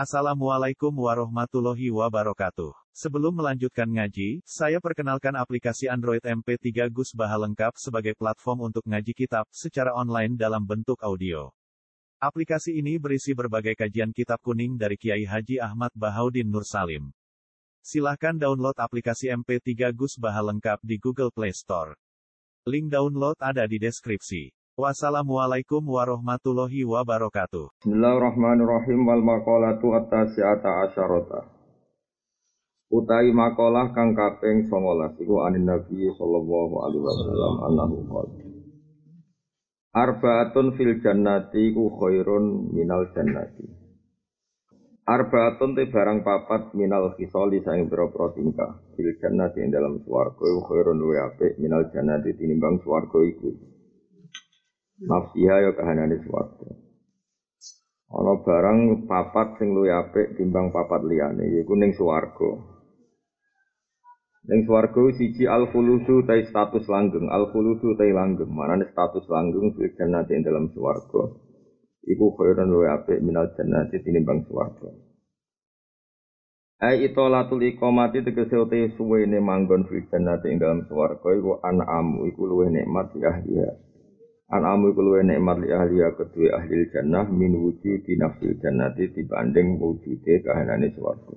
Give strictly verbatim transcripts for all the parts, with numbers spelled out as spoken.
Assalamualaikum warahmatullahi wabarakatuh. Sebelum melanjutkan ngaji, saya perkenalkan aplikasi Android M P tiga Gus Baha lengkap sebagai platform untuk ngaji kitab secara online dalam bentuk audio. Aplikasi ini berisi berbagai kajian kitab kuning dari Kiai Haji Ahmad Bahaudin Nur Salim. Silahkan download aplikasi M P tiga Gus Baha lengkap di Google Play Store. Link download ada di deskripsi. Wassalamualaikum warahmatullahi wabarakatuh. Bismillahirrahmanirrahim. Wal maqalatu at-tasi'ata asyarata. Utai maqalah kang kaping songolas iku anin Nabi sallallahu alaihi wasallam annahu qala Arba'atun fil jannati ku khairun minal jannati. Arba'atun te barang papat minal khisali saing pira-pira tingkah fil jannati ing dalam swarga iku khairun luwih apik minal jannati tinimbang swarga iku. Nafsiha ya kahanane swarga. Ana barang papat sing luwih apik timbang papat liyane yaiku ning swarga. Ning swarga siji al-khuludu ta status langgeng, al-khuludu ta langgeng, manane status langgeng fil jannati ing dalam swarga. Iku khairun luwih apik minal jannati tinimbang swarga. Ai itolatul iqamati tegese uti suwene manggon fil jannati ing dalam swarga iku an'amu iku luwih nikmat ya ahliya. An-amu iku luwih nikmat li ahli kedue ahli jannah min wujudi nafsil jannati dibanding wujude kahanane swarga.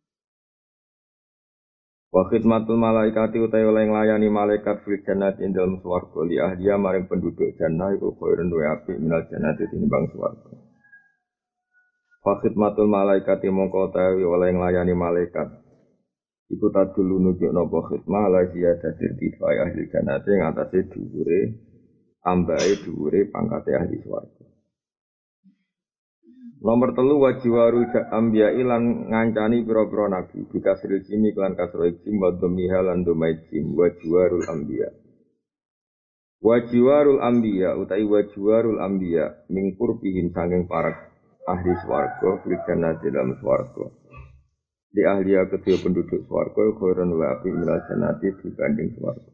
Wa khidmatul malaikati utawi oleh nglayani malaikat fil jannati ing dalem swarga li ahli maring penduduk jannah iku khairun wa apik minal jannati tinimbang swarga. Wa khidmatul malaikati mongko utawi oleh nglayani malaikat iku tadulu nunjukna apa khidmah la ziyadatir tifai ahli jannati ing atase dhuwure ambae dhuwure pangkate ahli swarga. Nomor telu wajiwaru ambiya ilan ngancani pira-pira nabi bikasril jimi lan kasro jim wa dhamiha lan dhamai jim wajiwarul ambiya. Wajiwarul ambiya utai wajiwarul ambiya mingkur bihin sanging para ahli swarga fil jannati dalam swarga. Di ahliya kedua penduduk swarga khairun wa apik minal jannati dibanding swarga.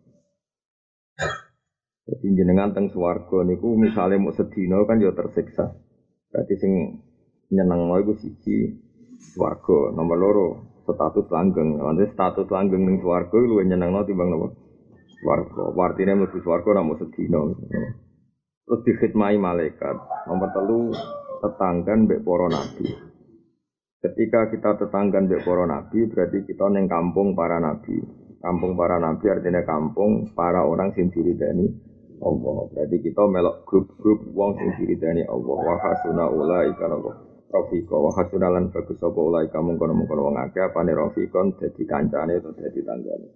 Jadi jenengan teng swarga niku misale mau sedina kan ya tersiksa. Berarti sing nyenengno iku siji swarga, nomor loro status langgeng. Nanti status langgeng ning swarga luwih nyenengno timbang napa? Swarga. Artine mlebu swarga ora mau sedina. Terus dikhidmati malaikat. Nomor telu tetanggan mbek para nabi. Ketika kita tetanggan mbek para nabi berarti kita ning kampung para nabi. Kampung para nabi artinya kampung para orang sing diridani Allah. Berarti kita melok grup-grup wong sing diridani Allah. Wa hasuna ulaika rafiqa wa hasuna lan bagus apa ulaika mungkon-mungkon wong akeh apane rafiqon dadi kancane atau dadi tanggane.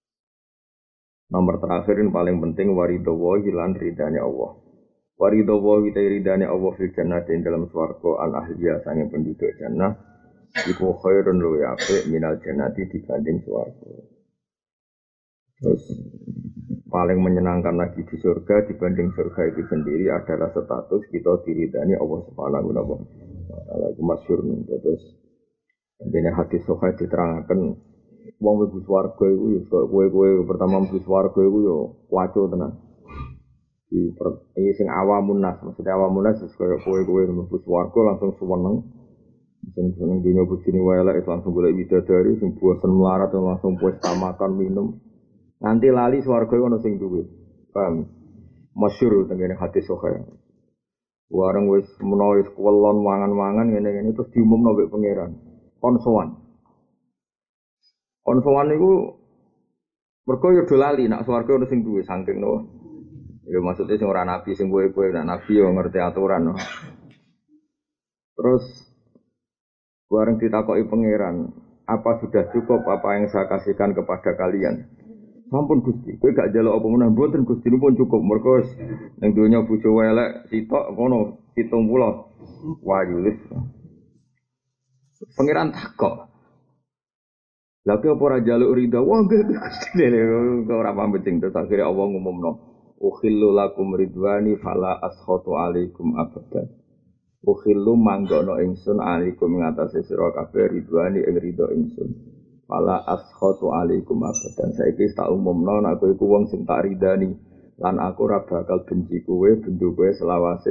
Nomor terakhir yang paling penting waridho wa lan ridane Allah. Waridho wa ta ridane Allah fil jannati dalam swarga al ahliya sange penduduk jannah iku khairun luwih apik minal jannati dibanding swarga. Terus paling menyenangkan lagi di surga dibanding surga itu sendiri adalah status kita diridani Allah Subhanahu wa taala. Itu masyhur nih. Terus dene hadis sahih diterangkan wong mlebu swarga iku ya kowe-kowe pertama mlebu swarga iku ya waco tenan. Di iki sing awamun nas, maksudnya awamun nas wis koyo kowe-kowe mlebu swarga langsung suweneng. Sing seneng dunya bojone wae elek langsung golek bidadari sing bosen melarat langsung pesta makan minum. Nanti lali swarga ono sing duwe. Paham? Masyhur tengene hadis sahih. Wareng wis menawa wis kuwelon mangan-mangan ngene-ngene terus diumumno mbek pangeran. Kon sowan. Kon sowan niku mergo yo do lali nek swarga ono sing duwe saking no. Ya maksudnya sing ora nabi sing kowe-kowe nek nabi yo ngerti aturan no. Terus wareng ditakoki pangeran, apa sudah cukup apa yang saya kasihkan kepada kalian? Sampun Gusti, kowe gak njaluk apa meneh mboten Gusti pun cukup. Mergo ning donya bojo elek sitok ngono pitung puluh wayu wis. Pangeran takok. Lha kok ora njaluk ridha? Wah nggih Gusti ora pamit sing terus akhire Allah ngumumno. Ukhillu lakum ridwani fala askhatu alaikum abadan. Ukhillu manggono ingsun alaikum ngatasi sira kabeh ridwani ing ridha ingsun. Fala askhatu alaikum abadan. Saiki tak umumno nek aku iku wong sing tak ridani lan aku ora bakal benci kowe bendu kowe selawase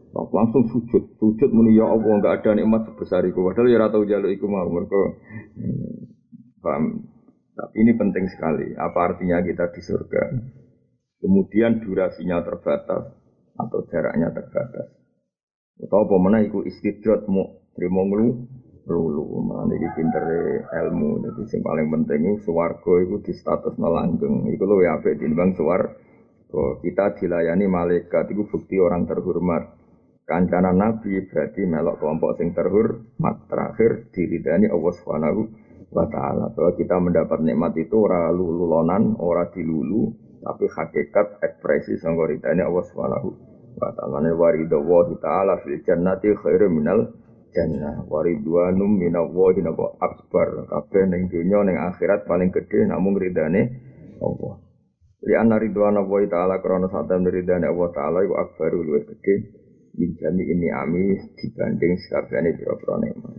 langsung sujud, sujud muni ya Allah enggak ada nikmat sebesar itu. Padahal ya ora tau njaluk iku mau mergo paham. Tapi ini penting sekali. Apa artinya kita di surga? Kemudian durasinya terbatas atau jaraknya terbatas. Atau apa mana iku istidrat mu trimo nglu lulu. Mana iki pintere ilmu. Jadi yang paling penting itu swarga iku di status langgeng. Iku luwih apik tinimbang swarga. Kita dilayani malaikat itu bukti orang terhormat. Kancana Nabi berarti melok kelompok sing terhormat. Terakhir diridani Allah Subhanahu wa ta'ala. Bahwa kita mendapat nikmat itu ora lululonan, ora dilulu, tapi hakikat ekspresi sangka ridane Allah Subhanahu wa ta'ala. Waridullah ta'ala fil jannati khairum minal jannah. Waridwanum minallahi akbar. Kabeh ning dunya ning akhirat paling gedhe namung ridane Allah. Li anna ridwanallahi ta'ala krana satam ridane Allah ta'ala iku akbaru luwih gedhe min jami ini ami dibanding sakabehane pira-pira nikmat.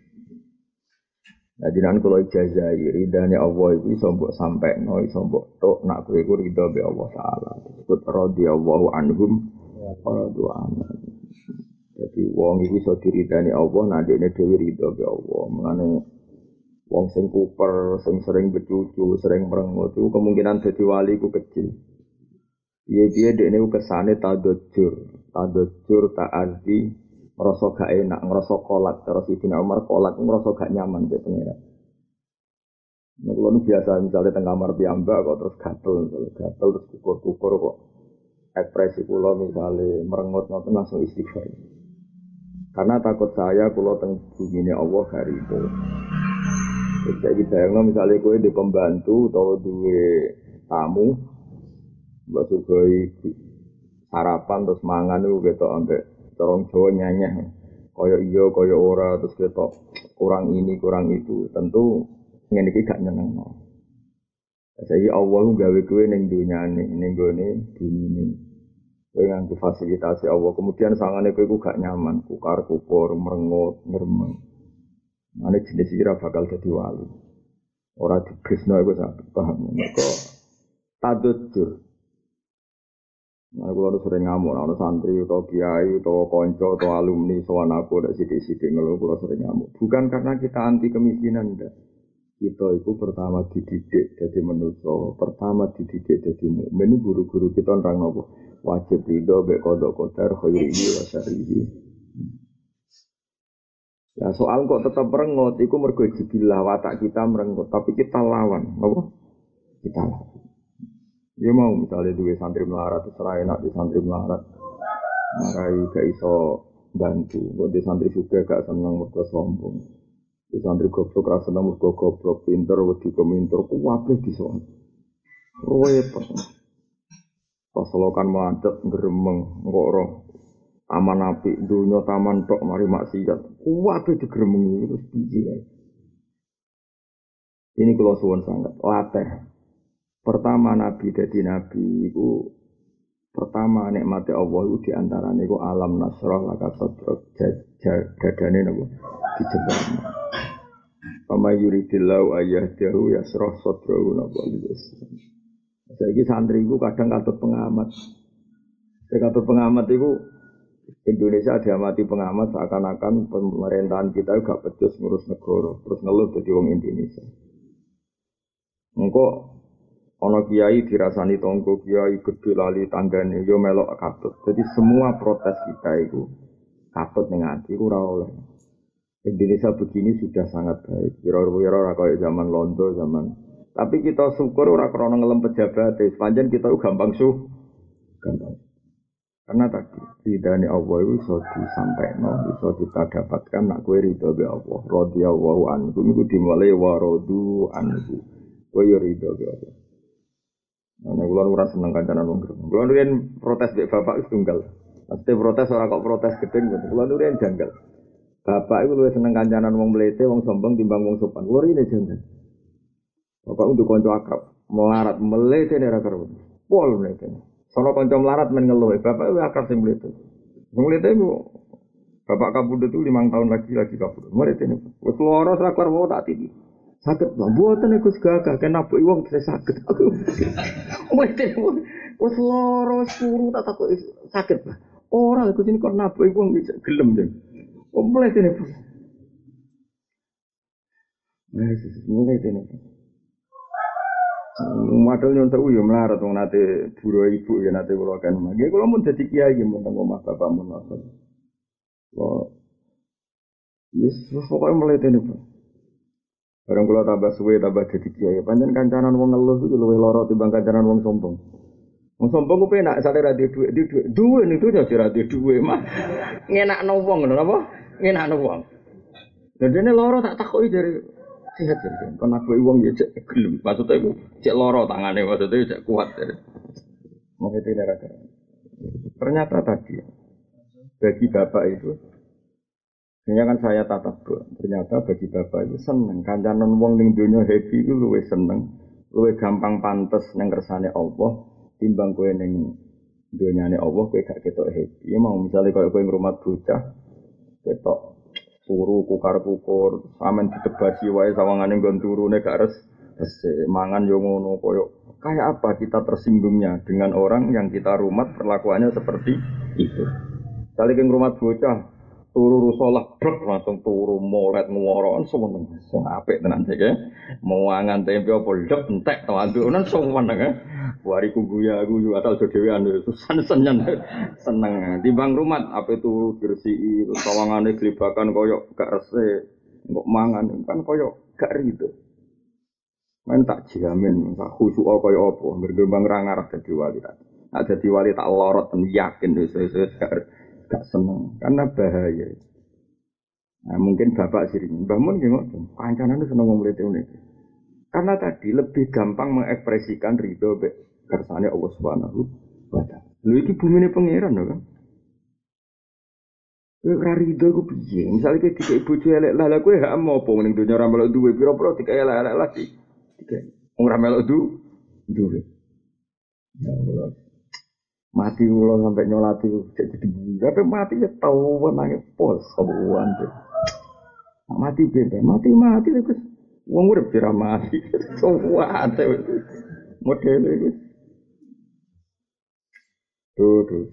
Nah jenengan kula ijazah ridane Allah iku iso mbok sampekno iso mbok tok nak kowe iku ridho be Allah taala. Disebut radhiyallahu anhum wa radu anhu. Jadi wong iku iso diridani Allah nek dene dhewe ridho be Allah. Mengane wong sing kuper, sing sering becucu, sering merengut iku kemungkinan dadi wali iku kecil. Piye-piye dekne ku kesane tadajjur, tadajjur ta'ardi ngrasa gak enak, ngrasa kolak terus Sidina Umar kolak ngrasa gak nyaman dek pengira. Nek kula biasa misalnya teng kamar piyambak kok terus gatel, gatel terus kukur-kukur kok ekspresi kula misalnya merengut ngoten langsung istighfar. Karena takut saya kula teng bumine Allah hari itu. Jadi bayangno misalnya kowe di pembantu atau duwe tamu mbak sugoi sarapan terus mangan itu ketok ambek corong Jawa nyanyah kaya iya kaya ora terus ketok kurang ini kurang itu tentu ngene iki gak nyenengno. Jadi Allah gawe kowe ning dunyane ning gone dumine kowe nganggo fasilitasi Allah kemudian sangane kowe iku gak nyaman kukar kupur merengut ngremeng ane jenis iki ra bakal dadi wali ora dibresno iku sak paham mergo tadujur. Nah, kalau sering ngamuk, ada santri, atau kiai, atau konco, atau alumni, soal aku, ada sidik-sidik ngeluh, kalau sering ngamuk. Bukan karena kita anti kemiskinan, enggak. Kita itu pertama dididik jadi manusia, pertama dididik jadi mukmin. Ini guru-guru kita orang nopo wajib ridho, baik kodok kodar, khairihi, wasarihi. Ya soal kok tetap merengut, itu mergo jibilah watak kita merengut, tapi kita lawan, nopo? Kita lawan. Dia mau misalnya duwe santri melarat, terserah enak di santri melarat, marai gak iso bantu. Kok di santri juga gak senang mergo sombong. Di santri goblok rasa senang mergo goblok, pinter wedi keminter, kuwabe dison. Repot. Pas lokan macet gremeng engko ora taman apik dunya taman tok mari maksiat. Kuwabe digremengi terus biji kae. Ini kula suwun sangat latih. Pertama Nabi dadi Nabi itu pertama nikmati Allah itu diantaranya itu alam nasrah laka sadrak dadane napa dijebakno. Pama yuridillahu ayyahdahu yasrah sadrahu napa lilus. Saiki santri iku kadang katut pengamat. Sing katut pengamat iku Indonesia diamati pengamat seakan-akan pemerintahan kita gak becus ngurus negara terus ngeluh dadi wong Indonesia. Engko ana kiai dirasani tonggo kiai gedhe lali tanggane yo melok katut. Jadi semua protes kita itu katut ning ati ora oleh. Indonesia begini sudah sangat baik. Kira-kira ora kaya zaman Londo zaman. Tapi kita syukur ora krana ngelem pejabat, sepanjang kita gampang su gampang. Karena tadi ridane Allah itu iso disampaikno, iso kita dapatkan nak kowe ridho be Allah. Radhiyallahu anhu iku dimulai wa radu anhu. Kowe yo ridho be Allah. Nah, kula ora seneng kancanan wong gremeng. Kula nurin protes mbek bapak wis tunggal. Pasti protes ora kok protes gedeng ngoten. Kula nurin janggal. Bapak iku luwih seneng kancanan wong mlete, wong sombong timbang wong sopan. Kula rene janggal. Bapak untuk kanca akrab, melarat mlete ora karo. Pol mlete. Sono kanca melarat men ngeluh, bapak iku akrab sing mlete. Wong mlete iku bapak kabudut itu lima tahun lagi lagi kabudut. Mlete niku. Wis lara ora kelar wae tak titi. Sakit lah, buatan aku segagah, kenapa iwang saya sakit aku. Mungkin, wes loro sepuluh tak takut sakit lah. Ora Gus ini kok nabuh wong iki gelem jeng. Oh mulai dene. Mulai dene. Madal nyontek yo melarat wong nate buru ibu ya nate kula kan. Nggih kula mun dadi kiai nggih mun teng omah bapak mun ngoten. Kok wis pokoke mulai dene. Barang kula tambah suwe tambah dadi kiai. Pancen kancanan wong ngeluh iku luwih lara timbang kancanan wong sombong. Wong sombong ku penak sare ra duwe dhuwit, dhuwit duwe niku aja ra duwe dhuwit mah. Ngenakno wong ngono apa? Ngenakno wong. Dadene lara tak takoki dari sehat jadi. Kon aku wong ya cek gelem. Maksudnya iku cek lara tangane maksudnya cek kuat dari. Maksudnya neraka. Ternyata tadi bagi bapak itu ini kan saya tatap ternyata bagi bapak itu seneng kancanan wong ning donya happy itu luwih seneng, luwih gampang pantes nang kersane Allah. Timbang kowe ning donyane Allah kowe gak ketok happy. Ya mau misale koyo kowe ngrumat bocah ketok turu kukar-kukur, sampean ditebasi wae sawangane nggon turune gak res resik, mangan yo ngono koyo kayak apa kita tersinggungnya dengan orang yang kita rumat perlakuannya seperti itu. Misale kowe ngrumat bocah turu rusolah brek langsung turu molet ngworo seneng sing apik tenan iki mau mangan tempe apa lep entek to andunan seneng eh wariku guya aku yo asal dhewean susah seneng seneng timbang rumat ape turu diresiki terus sawangane glebakan koyo gak resik kok mangan kan koyo gak rido men tak jamin tak khusuk koyo apa bergembang ra ngarep dadi wali tak dadi wali tak lorot yakin wis wis gak gak seneng karena bahaya. Nah, mungkin bapak sering, Mbah Mun nggih ngoten, kancanan seneng wong mrete ngene. Karena tadi lebih gampang mengekspresikan ridho be kersane Allah Subhanahu wa taala. Lho iki bumine pangeran lho kan. Kowe ora ridho ku piye? Misale kowe dikek bojo elek lah, lha kowe hak apa ning donya ora melok duwe pira-pira dikek elek-elek lagi. Dikek ora melok du duwe. Ya Allah. Mati kula sampai nyolati cek jadi tapi mati ya tau nangis pos sobuan tuh mati beda mati mati terus wong urip ora mati sobuan tuh model itu tuh tuh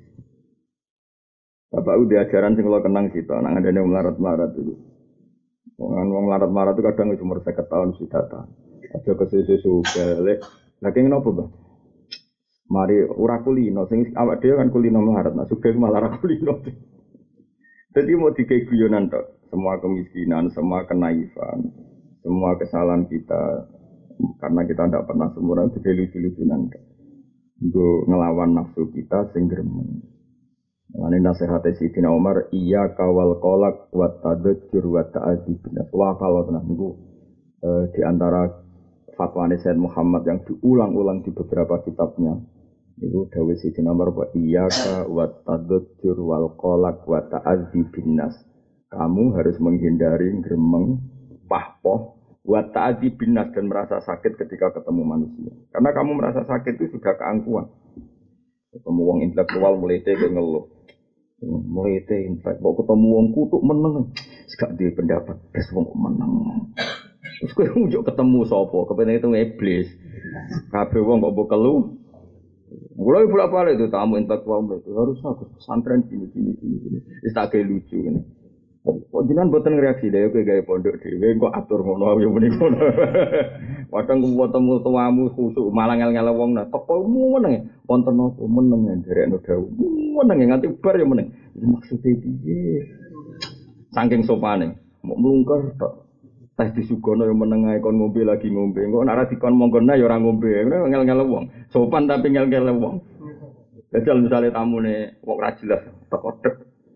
bapak udah ajaran sing kula kenang sito nang ngene melarat-melarat itu wong wong melarat-melarat itu kadang wis umur seket tahun sudah ta aja kesusu galek lagi ngopo Bang mari ora kulino sing awak dhewe kan kulino melarat nah sugih malah ora kulino. Jadi mau dikei guyonan tok, semua kemiskinan, semua kenaifan, semua kesalahan kita karena kita tidak pernah sempurna dikei lucu-lucunan tok. Nggo ngelawan nafsu kita sing gremeng. Lan nasihat Sayyidina Umar iya kawal qalaq wa tadajjur wa ta'adib. Wa kalau tenan niku eh, di antara fatwa Sayyid Muhammad yang diulang-ulang di beberapa kitabnya itu dawuh Sayyidina Umar wa iyyaka wa tadajjur wal qalaq wa ta'adzibin nas. Kamu harus menghindari gremeng, pahpoh, wa ta'adzibin nas dan merasa sakit ketika ketemu manusia. Karena kamu merasa sakit itu sudah keangkuhan. Ketemu wong intelektual mulai teh ngeluh. Mulai teh intelek kok ketemu wong kutuk meneng. Gak duwe pendapat, wis wong meneng. Terus kowe njuk ketemu sapa? Kepene itu iblis. Kabeh wong kok mbok kelu. Mulai bolak-balik itu tamu intelektual itu harus aku pesantren gini gini gini gini. Wis tak gawe lucu ngene. Kok jenengan mboten ngreaksi dhewe kowe gawe pondok dhewe kok atur ngono ya menika. Padahal ketemu tuamu khusuk malah ngel-ngel wong nah teko meneng wonten apa meneng nderekno dawuh. Meneng nganti bar ya meneng. Maksude piye? Saking sopane, mau mlungker tok. Teh disugono yo meneng ae kon ngombe lagi ngombe. Engko nek ora dikon monggona yo ora ngombe. Ngel-ngel wong. Sopan tapi ngel-ngel wong. Dadi misale tamune wong ora jelas teko tek.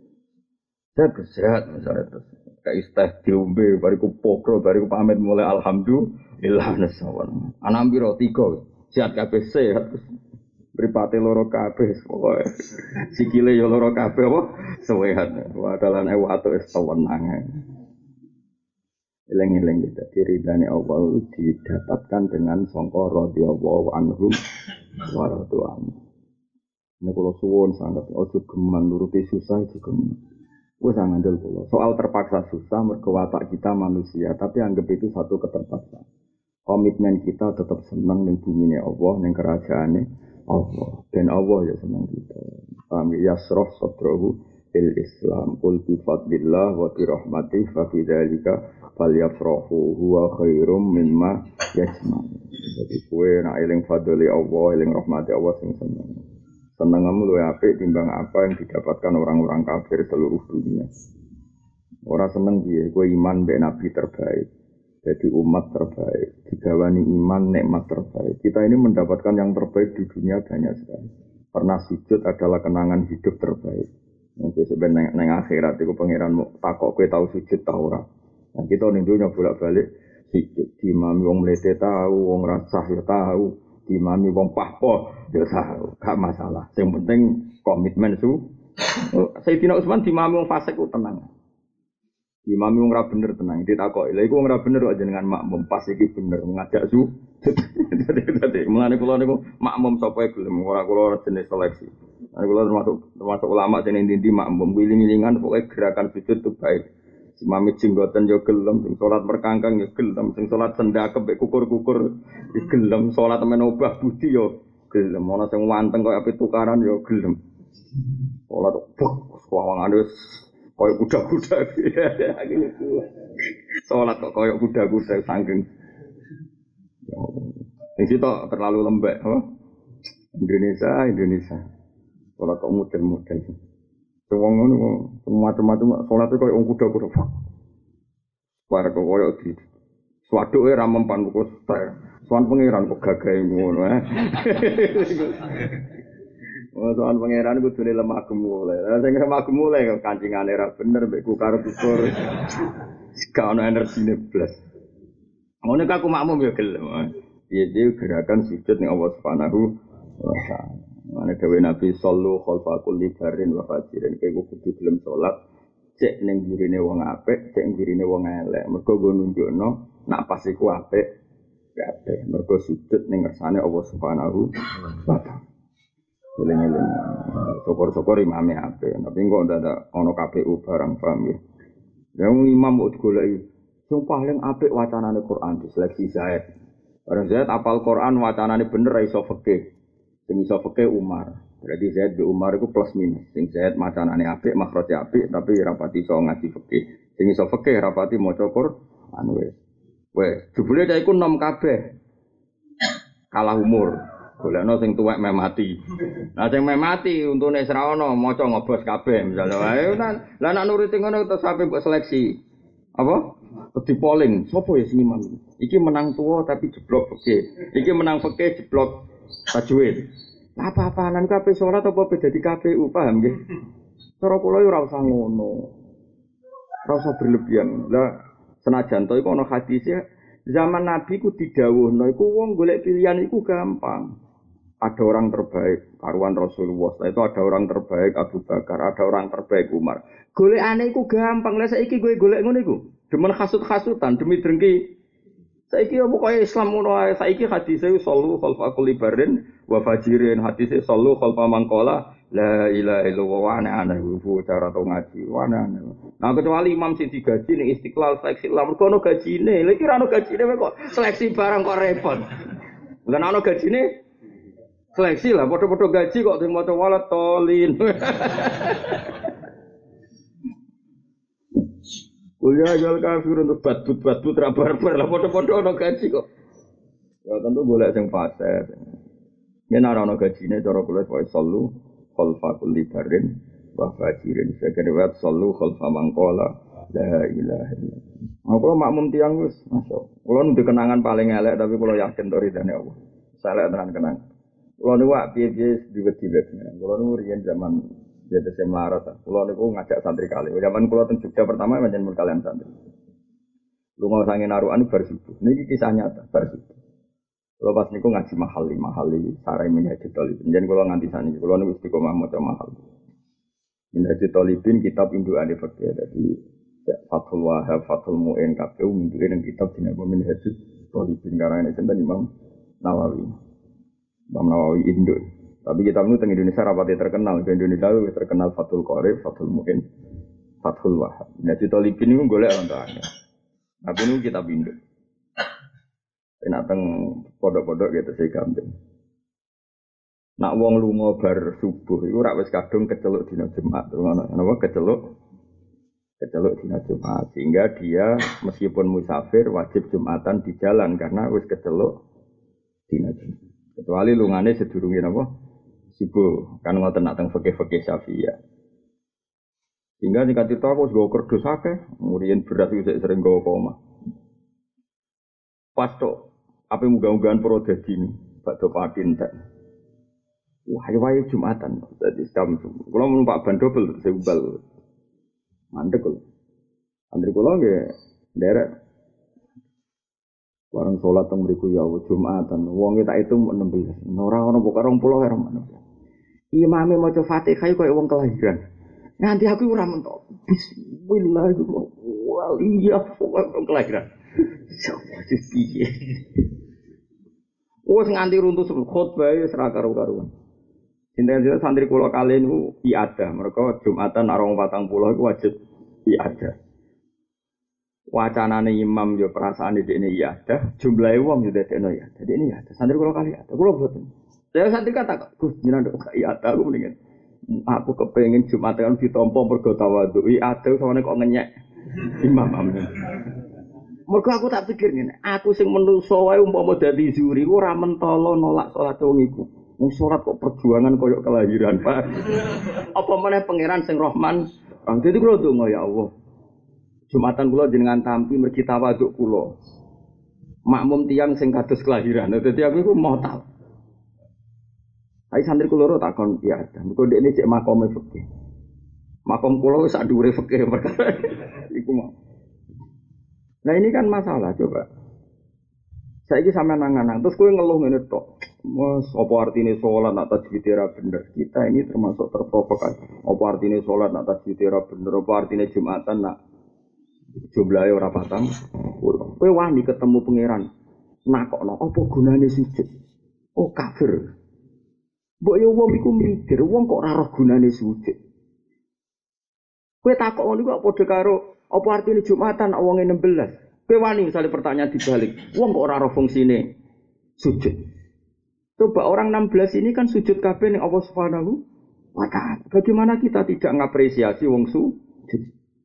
Sehat misale terus kayak teh diombe bariku pokro bariku pamit mulai alhamdulillah nasawan. Ana piro tiga. Sehat kabeh sehat. Mripate loro kabeh pokoke. Sikile yo loro kabeh apa? Sehat. Wadalan ewu atus wis tenang. Eleng-eleng kita diridani Allah didapatkan dengan sangka radhiyallahu anhum wa radwan. Nek kula suwun sanget ojo geman nuruti susah iki geman. Wis ngandel kula. Soal terpaksa susah mergo watak kita manusia, tapi anggap itu satu keterpaksaan. Komitmen kita tetap senang ning bumine Allah, ning kerajaane Allah. Dan Allah ya senang kita. Paham ya? Yasroh sadrahu il Islam qul bi fadlillah wa bi rahmatih fa fi dzalika falyafrahu huwa khairum mimma yajma'un. Jadi kowe nek eling fadli Allah, eling rahmati Allah sing seneng. Senengmu luwih apik timbang apa yang didapatkan orang-orang kafir seluruh dunia. Ora seneng piye kowe iman mbek nabi terbaik. Jadi umat terbaik, digawani iman nikmat terbaik. Kita ini mendapatkan yang terbaik di dunia banyak sekali. Pernah sujud adalah kenangan hidup terbaik. Nanti sebenarnya neng akhirat itu pangeranmu takok kowe tahu sujud ta ora. Nah kita ning dunya bolak-balik sujud. Dimami wong mlete tahu, wong rasah ya tahu, dimami wong pahpoh ya tahu. Gak masalah. Yang penting komitmen su. Sayyidina Utsman dimami wong fasik ku tenang. Imam wong ora bener tenang, ditakoki. Lha iku wong ora bener kok jenengan makmum pas iki bener ngajak su. Dadi mulane kula niku makmum sapa gelem ora kula jenis seleksi. Nek kula termasuk termasuk ulama sing ndi-ndi makmum wiling-wilingan pokoke gerakan sujud itu baik. Imam jenggoten yo gelem, sing salat merkangkang yo gelem, sing salat sendakep mek kukur-kukur yo gelem, salat men obah budi yo gelem. Ana sing wanteng koyo ape tukaran yo gelem. Salat buk wawangane koyok kuda-kuda, sholat kok koyok kuda-kuda sangking. Yang situ terlalu lembek, oh? Indonesia, Indonesia. Sholat kok model-model. Semua ngono, semua macam-macam. Sholat itu koyok kuda-kuda. Suara kok koyok di. Swaduk era mempan buku style. Suan pengiran kok gagai ngono, eh? Soal pangeran ku dene lemah gemule. Lah sing lemah gemule kok kancingane ra bener mek ku karo ukur. Gak ono energi blas. Ngono aku makmum ya gelem. Piye-piye gerakan sujud ning Allah Subhanahu wa taala. Mane dewe Nabi sallu khalfa kulli barin wa fajirin. Kowe kudu gelem salat cek ning gurine wong apik, cek gurine wong elek. Mergo go nunjukno nak pas iku apik kabeh. Mergo sujud ning ngersane Allah Subhanahu wa taala. Eling-eling, syukur-syukur imame ape, tapi kok ndak ana K P U barang paham ya. Yang imam kok digoleki, sing paling apik wacanane Quran diseleksi Zaid. Barang Zaid apal Quran wacanane bener ra iso fikih. Sing iso fikih Umar. Berarti Zaid be Umar iku plus minus. Sing Zaid wacanane apik, makrote apik, tapi rapati iso ngaji fikih. Sing iso fikih rapati maca Quran wis. Wis, jebule cah iku nom kabeh. Kalah umur. Golekno sing tuwek meh mati. Lah sing meh mati untune wis ra ono maca ngobos kabeh misale wae. Lah nek nuruti ngono terus sampe mbok seleksi. Apa? Terus di polling, sapa ya sing imam? Iki menang tuwa tapi jeblok fikih. Iki menang fikih jeblok tajwid. Lah apa-apaan kabeh salat apa beda di K P U paham nggih? Cara kula yo ora usah ngono. Ora usah berlebihan. Lah senajan to iku ana hadise zaman Nabi ku didhawuhno iku wong golek pilihan iku gampang. Ada orang terbaik, karuan Rasulullah. Setelah itu ada orang terbaik Abu Bakar, ada orang terbaik Umar. Golekane iku gampang. Lah saiki kowe golek ngono iku. Demen hasut-hasutan demi drengki. Saiki yo pokoke Islam ngono ae. Saiki hadise sallu khalfa kulli barin wa fajirin. Hadise sallu khalfa man qala la ilaha illallah wa ana ana hu cara to ngaji. Wa ana. Nah kecuali imam sing digaji ning Istiqlal seleksi lah mergo ono gajine. Lha iki ra ono gajine kok seleksi barang kok repot. Lah ono gajine seleksi lah, foto-foto gaji kok sing maca walat tolin. Kuliah jual kafir untuk batut-batut rabar-bar lah foto-foto ono gaji kok. Ya tentu golek sing fase. Yen ora ono gajine cara kula wae sallu khalfa kulli barin wa fajirin. Sekene wae sallu khalfa mangqala la ilaha illallah. Aku makmum tiyang wis, masyaallah. Kula nu kenangan paling elek tapi kula yakin to ridane Allah. Saleh tenan kenang. Kulo niku wak piye-piye diwet-diwet. Kulo niku riyen zaman jadi saya melarat. Kulo niku ngajak santri kali. Zaman kulo teng Jogja pertama pancen mul kalian santri. Lunga sange narukan bar subuh. Niki kisah nyata bar subuh. Kulo pas niku ngaji mahali mahali sarai minhajul talibin. Jen kulo nganti saniki. Kulo niku istiqomah maca mahal. Minhajul talibin kitab indukane fikih. Dadi Fathul Wahhab, Fathul Mu'in kabeh induke kitab dinapa minhajul talibin karane sinten Imam Nawawi. Imam Nawawi Induk. Tapi kitab itu di Indonesia rapati terkenal. Di Indonesia itu terkenal Fathul Qorib, Fathul Mu'in, Fathul Wahhab. Nah, cerita Libin itu golek orang-orangnya. Tapi ini kitab Induk. Ini datang podok-podok gitu sih gampang. Nak wong lunga bar subuh iku ora wis kadung keceluk dina Jumat. Ngono napa keceluk keceluk dina Jumat sehingga dia meskipun musafir wajib Jumatan di jalan karena wis keceluk dina Jumat. Kecuali lungane sedurunge napa subuh kan ngoten nak teng fikih-fikih Syafi'iyah. Sehingga nek kita aku wis go kerdus akeh, muriyen beras wis sering go koma. Pas tok apa muga-mugaan pro dadi bakdo patin tak. Wah, wae Jumatan. Dadi jam kula numpak ban dobel sebal. Mandek kok. Antri kula nggih nderek. Warung salat teng mriku ya Jumatan. Wonge tak hitung enam belas. Ora ono pokoke dua puluh karo enam belas. Imame maca Fatihah koyo wong kelahiran. Nganti aku ora mentok. Bismillahirrahmanirrahim. Wong kelahiran. Sopo piye? Wes nganti runtuh khotbah wis ra karo-karuan. Sinten-sinten santri kula kali niku iadah, mereka Jumatan arung patang puluh iku wajib iadah. Wacanane imam yo perasaane dekne iadah, jumlahe wong yo dekne ya. Dadi ini ya, santri kula kali iadah. Kula boten. Saya santri kata, "Gus, jenengan kok iadah aku mendingan. Aku kepengin Jumatan ditampa mergo tawadhu. Iadah sawane kok ngenyek imam amin." Mergo aku tak pikir ngene, aku sing menungso wae umpama dadi zuri ora mentolo nolak salat wong iku. Wong salat kok perjuangan koyo kelahiran, Pak. Apa meneh pangeran sing Rahman. Wong dadi kula donga ya Allah. Jumatan kula jenengan tampi mergi tawaduk kula. Makmum tiyang sing kados kelahiran. Dadi aku iku mau tau. Ai santri kula ora takon ya, mergo dekne cek makome fikih. Makom kula wis sak dhuwure fikih perkara iku mau. Nah ini kan masalah, coba. Saiki sampean nangan-nangan, terus kowe ngeluh ngene tok. Mas, apa artine salat nak tajwid ora bener? Kita ini termasuk terprovokasi. Apa artine salat nak tajwid ora bener? Apa artine Jumatan nak jumlahe ora patang? Kowe wani ketemu pangeran. Nakokno, apa gunane sujud? Oh kafir. Mbok yo wong iku mikir, wong kok ora roh gunane sujud. Kowe takok ngono iku kok padha karo apa artinya Jumatan wong enam belas? Kowe wani misalnya pertanyaan dibalik. Wong kok ora ora fungsine sujud. Coba orang enam belas ini kan sujud kabeh ning Allah Subhanahu wa taala. Bagaimana kita tidak ngapresiasi wong sujud?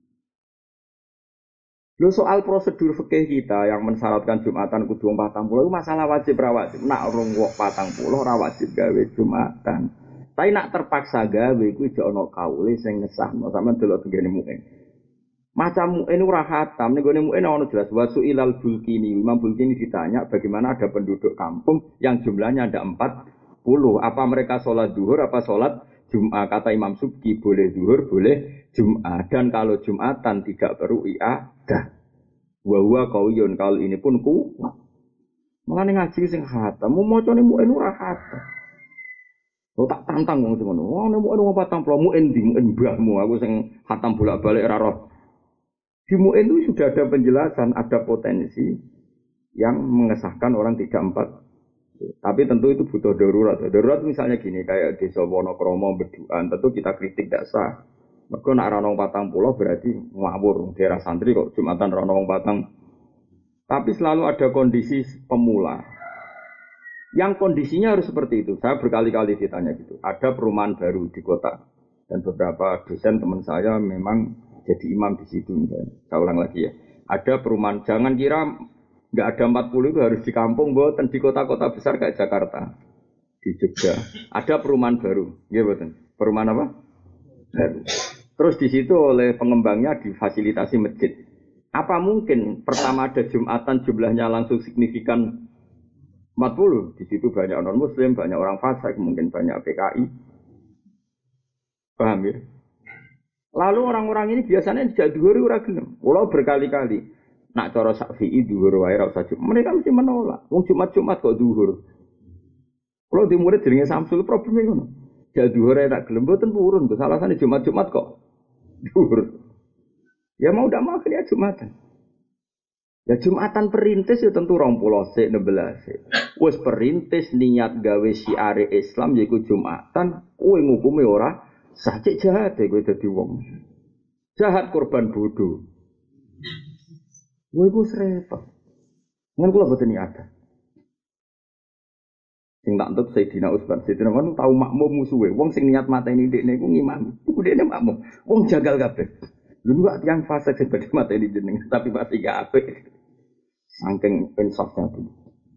Lho soal prosedur fikih kita yang mensyaratkan Jumatan kudu wong patang puluh itu masalah wajib ra wajib. Nak rong wong patang puluh ora wajib gawe Jumatan. Tapi nak terpaksa gawe kuwi jek ana kaule sing ngesahno sampean delok tengene muin. Macam ini ora khatam, ning gone muin ana jelas wasu ilal bulkini. Imam Bulkini ditanya bagaimana ada penduduk kampung yang jumlahnya ada empat puluh. Apa mereka sholat zuhur, apa sholat Jum'ah? Kata Imam Subki boleh zuhur, boleh Jum'ah. Dan kalau Jum'atan tidak perlu i'adah. Wa huwa qawiyun, kalau ini pun kuat. Mulane ngaji sing khatam, macane muin ora khatam. Lo tak tantang wong sing ngono. Wong nek muin wong patang puluh muin di muin mbahmu, aku sing khatam bolak-balik ora roh. Di muin itu sudah ada penjelasan, ada potensi yang mengesahkan orang tidak empat. Tapi tentu itu butuh darurat. Darurat misalnya gini, kayak desa Wonokromo Beduan, tentu kita kritik tidak sah. Mereka nak ranong patang pulau berarti ngawur. Daerah santri kok Jumatan ranong patang. Tapi selalu ada kondisi pemula. Yang kondisinya harus seperti itu. Saya berkali-kali ditanya gitu. Ada perumahan baru di kota. Dan beberapa dosen teman saya memang jadi imam di situ. Saya ulang lagi ya. Ada perumahan. Jangan kira nggak ada empat puluh itu harus di kampung, boten di kota-kota besar kayak Jakarta, di Jogja. Ada perumahan baru, ya boten. Perumahan apa? Baru. Terus di situ oleh pengembangnya difasilitasi masjid. Apa mungkin pertama ada Jumatan jumlahnya langsung signifikan empat puluh? Di situ banyak non Muslim, banyak orang fasik, mungkin banyak P K I. Paham ya? Lalu orang-orang ini biasanya tidak dhuwur ora gelem. Kula berkali-kali nak cara Syafi'i dhuwur wae ora usah Jumat. Mereka mesti menolak. Wong Jumat-Jumat kok dhuwur. Kula di murid jenenge Samsul probleme ngono. Ja dhuwur ae tak gelem mboten purun. Salasane Jumat-Jumat kok dhuwur. Ya mau ndak mau ya Jumatan. Ya Jumatan perintis ya tentu rong puluh sik enam belas sik. Wis perintis niat gawe syiare Islam yaiku Jumatan, kowe ngukume ora sah. Cek jahat ya kowe dadi wong. Jahat korban bodoh. Kowe iku repot. Ngen kula boten niat. Sing tak entuk Sayyidina Utsman. Sayyidina Utsman tau makmum musuhe. Wong sing niat mateni dekne iku ngimami. Iku dekne makmum. Wong jagal kabeh. Lha kok tiyang fasik sing badhe mateni jeneng tapi pasti gak apik. Saking insafnya itu.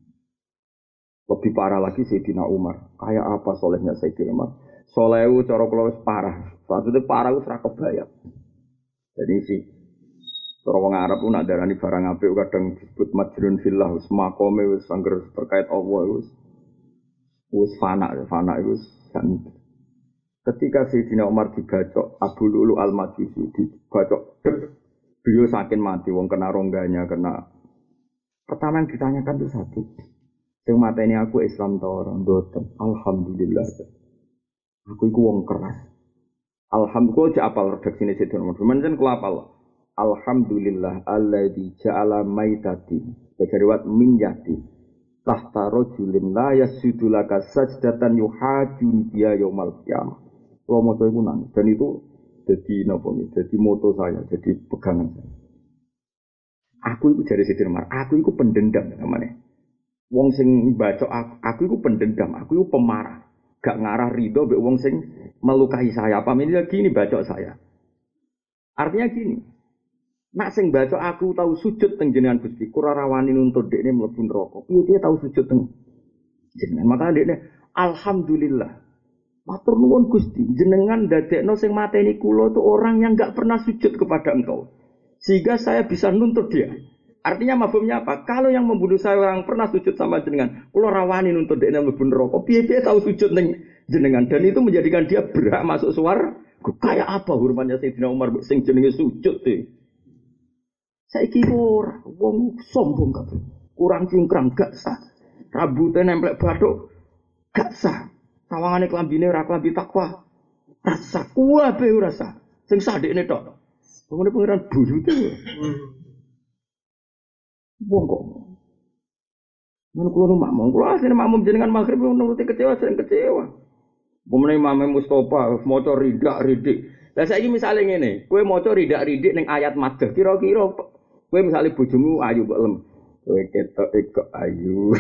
Lebih parah lagi Sayyidina Umar. Kayak apa solehnya Sayyidina Umar? Solehu cara kula wis parah. Maksudnya parah wis ra kebayang. Jadi sih cara wong Arab ku nak darani barang apik kadang disebut majrun fillah wis makome wis angger terkait Allah wis wis fana, fana itu kan. Ketika Sayyidina Umar dibacok Abu Lu'lu al-Majusi dibacok, beliau saking mati, wong kena rongganya, kena. Pertama yang ditanyakan itu satu, yang mata ini aku Islam tau orang doten, alhamdulillah, aku itu wong keras. Alhamdulillah, aja apal redaksi ini Sayyidina Umar. Cuman kalau apal, alhamdulillah, alladzi ja'ala maitati, berkariwat min yati. Tahta rajulin la yasjudu laka sajdatan yuhajun dia yaumal qiyamah. Kalau moto itu nangis dan itu jadi napa jadi moto saya, jadi pegangan saya. Aku itu dari Sayyidina Umar, aku itu pendendam namanya. Wong sing baca aku, aku itu pendendam, aku itu pemarah. Gak ngarah ridho mbek wong sing melukai saya. Apa ini gini baca saya. Artinya gini. Nak sing baca aku tahu sujud teng jenengan Gusti, kura rawani nuntut dekne mlebu neraka. Piye dia tahu sujud teng jenengan? Maka dekne alhamdulillah. Matur nuwun Gusti, jenengan dadekno sing mateni kula itu orang yang enggak pernah sujud kepada Engkau. Sehingga saya bisa nuntut dia. Artinya mafhumnya apa? Kalau yang membunuh saya orang pernah sujud sama jenengan, kula rawani nuntut dekne mlebu neraka. Piye dia tahu sujud teng jenengan dan itu menjadikan dia berhak masuk swarga. Kayak apa hormatnya Sayyidina Umar sing jenenge sujud e? Saiki ora wong sombong kabeh. Kurang cingkrang gak sah. Rambute nemplek bathuk gak sah. Sawangane klambine ora klambi takwa. Rasa kuwabe ora sah. Sing sadekne tok. Wong pengiran buyute. Wong kok. Men kulo nu makmum, kulo asline makmum jenengan magrib nuruti kecewa sering kecewa. Pemene Imam Mustofa maca ridak-ridik. Lah saiki misale ngene, kowe maca ridak-ridik ning ayat madhah kira-kira kowe misale bojomu ayu kok lem. Kowe ketok kok ayu.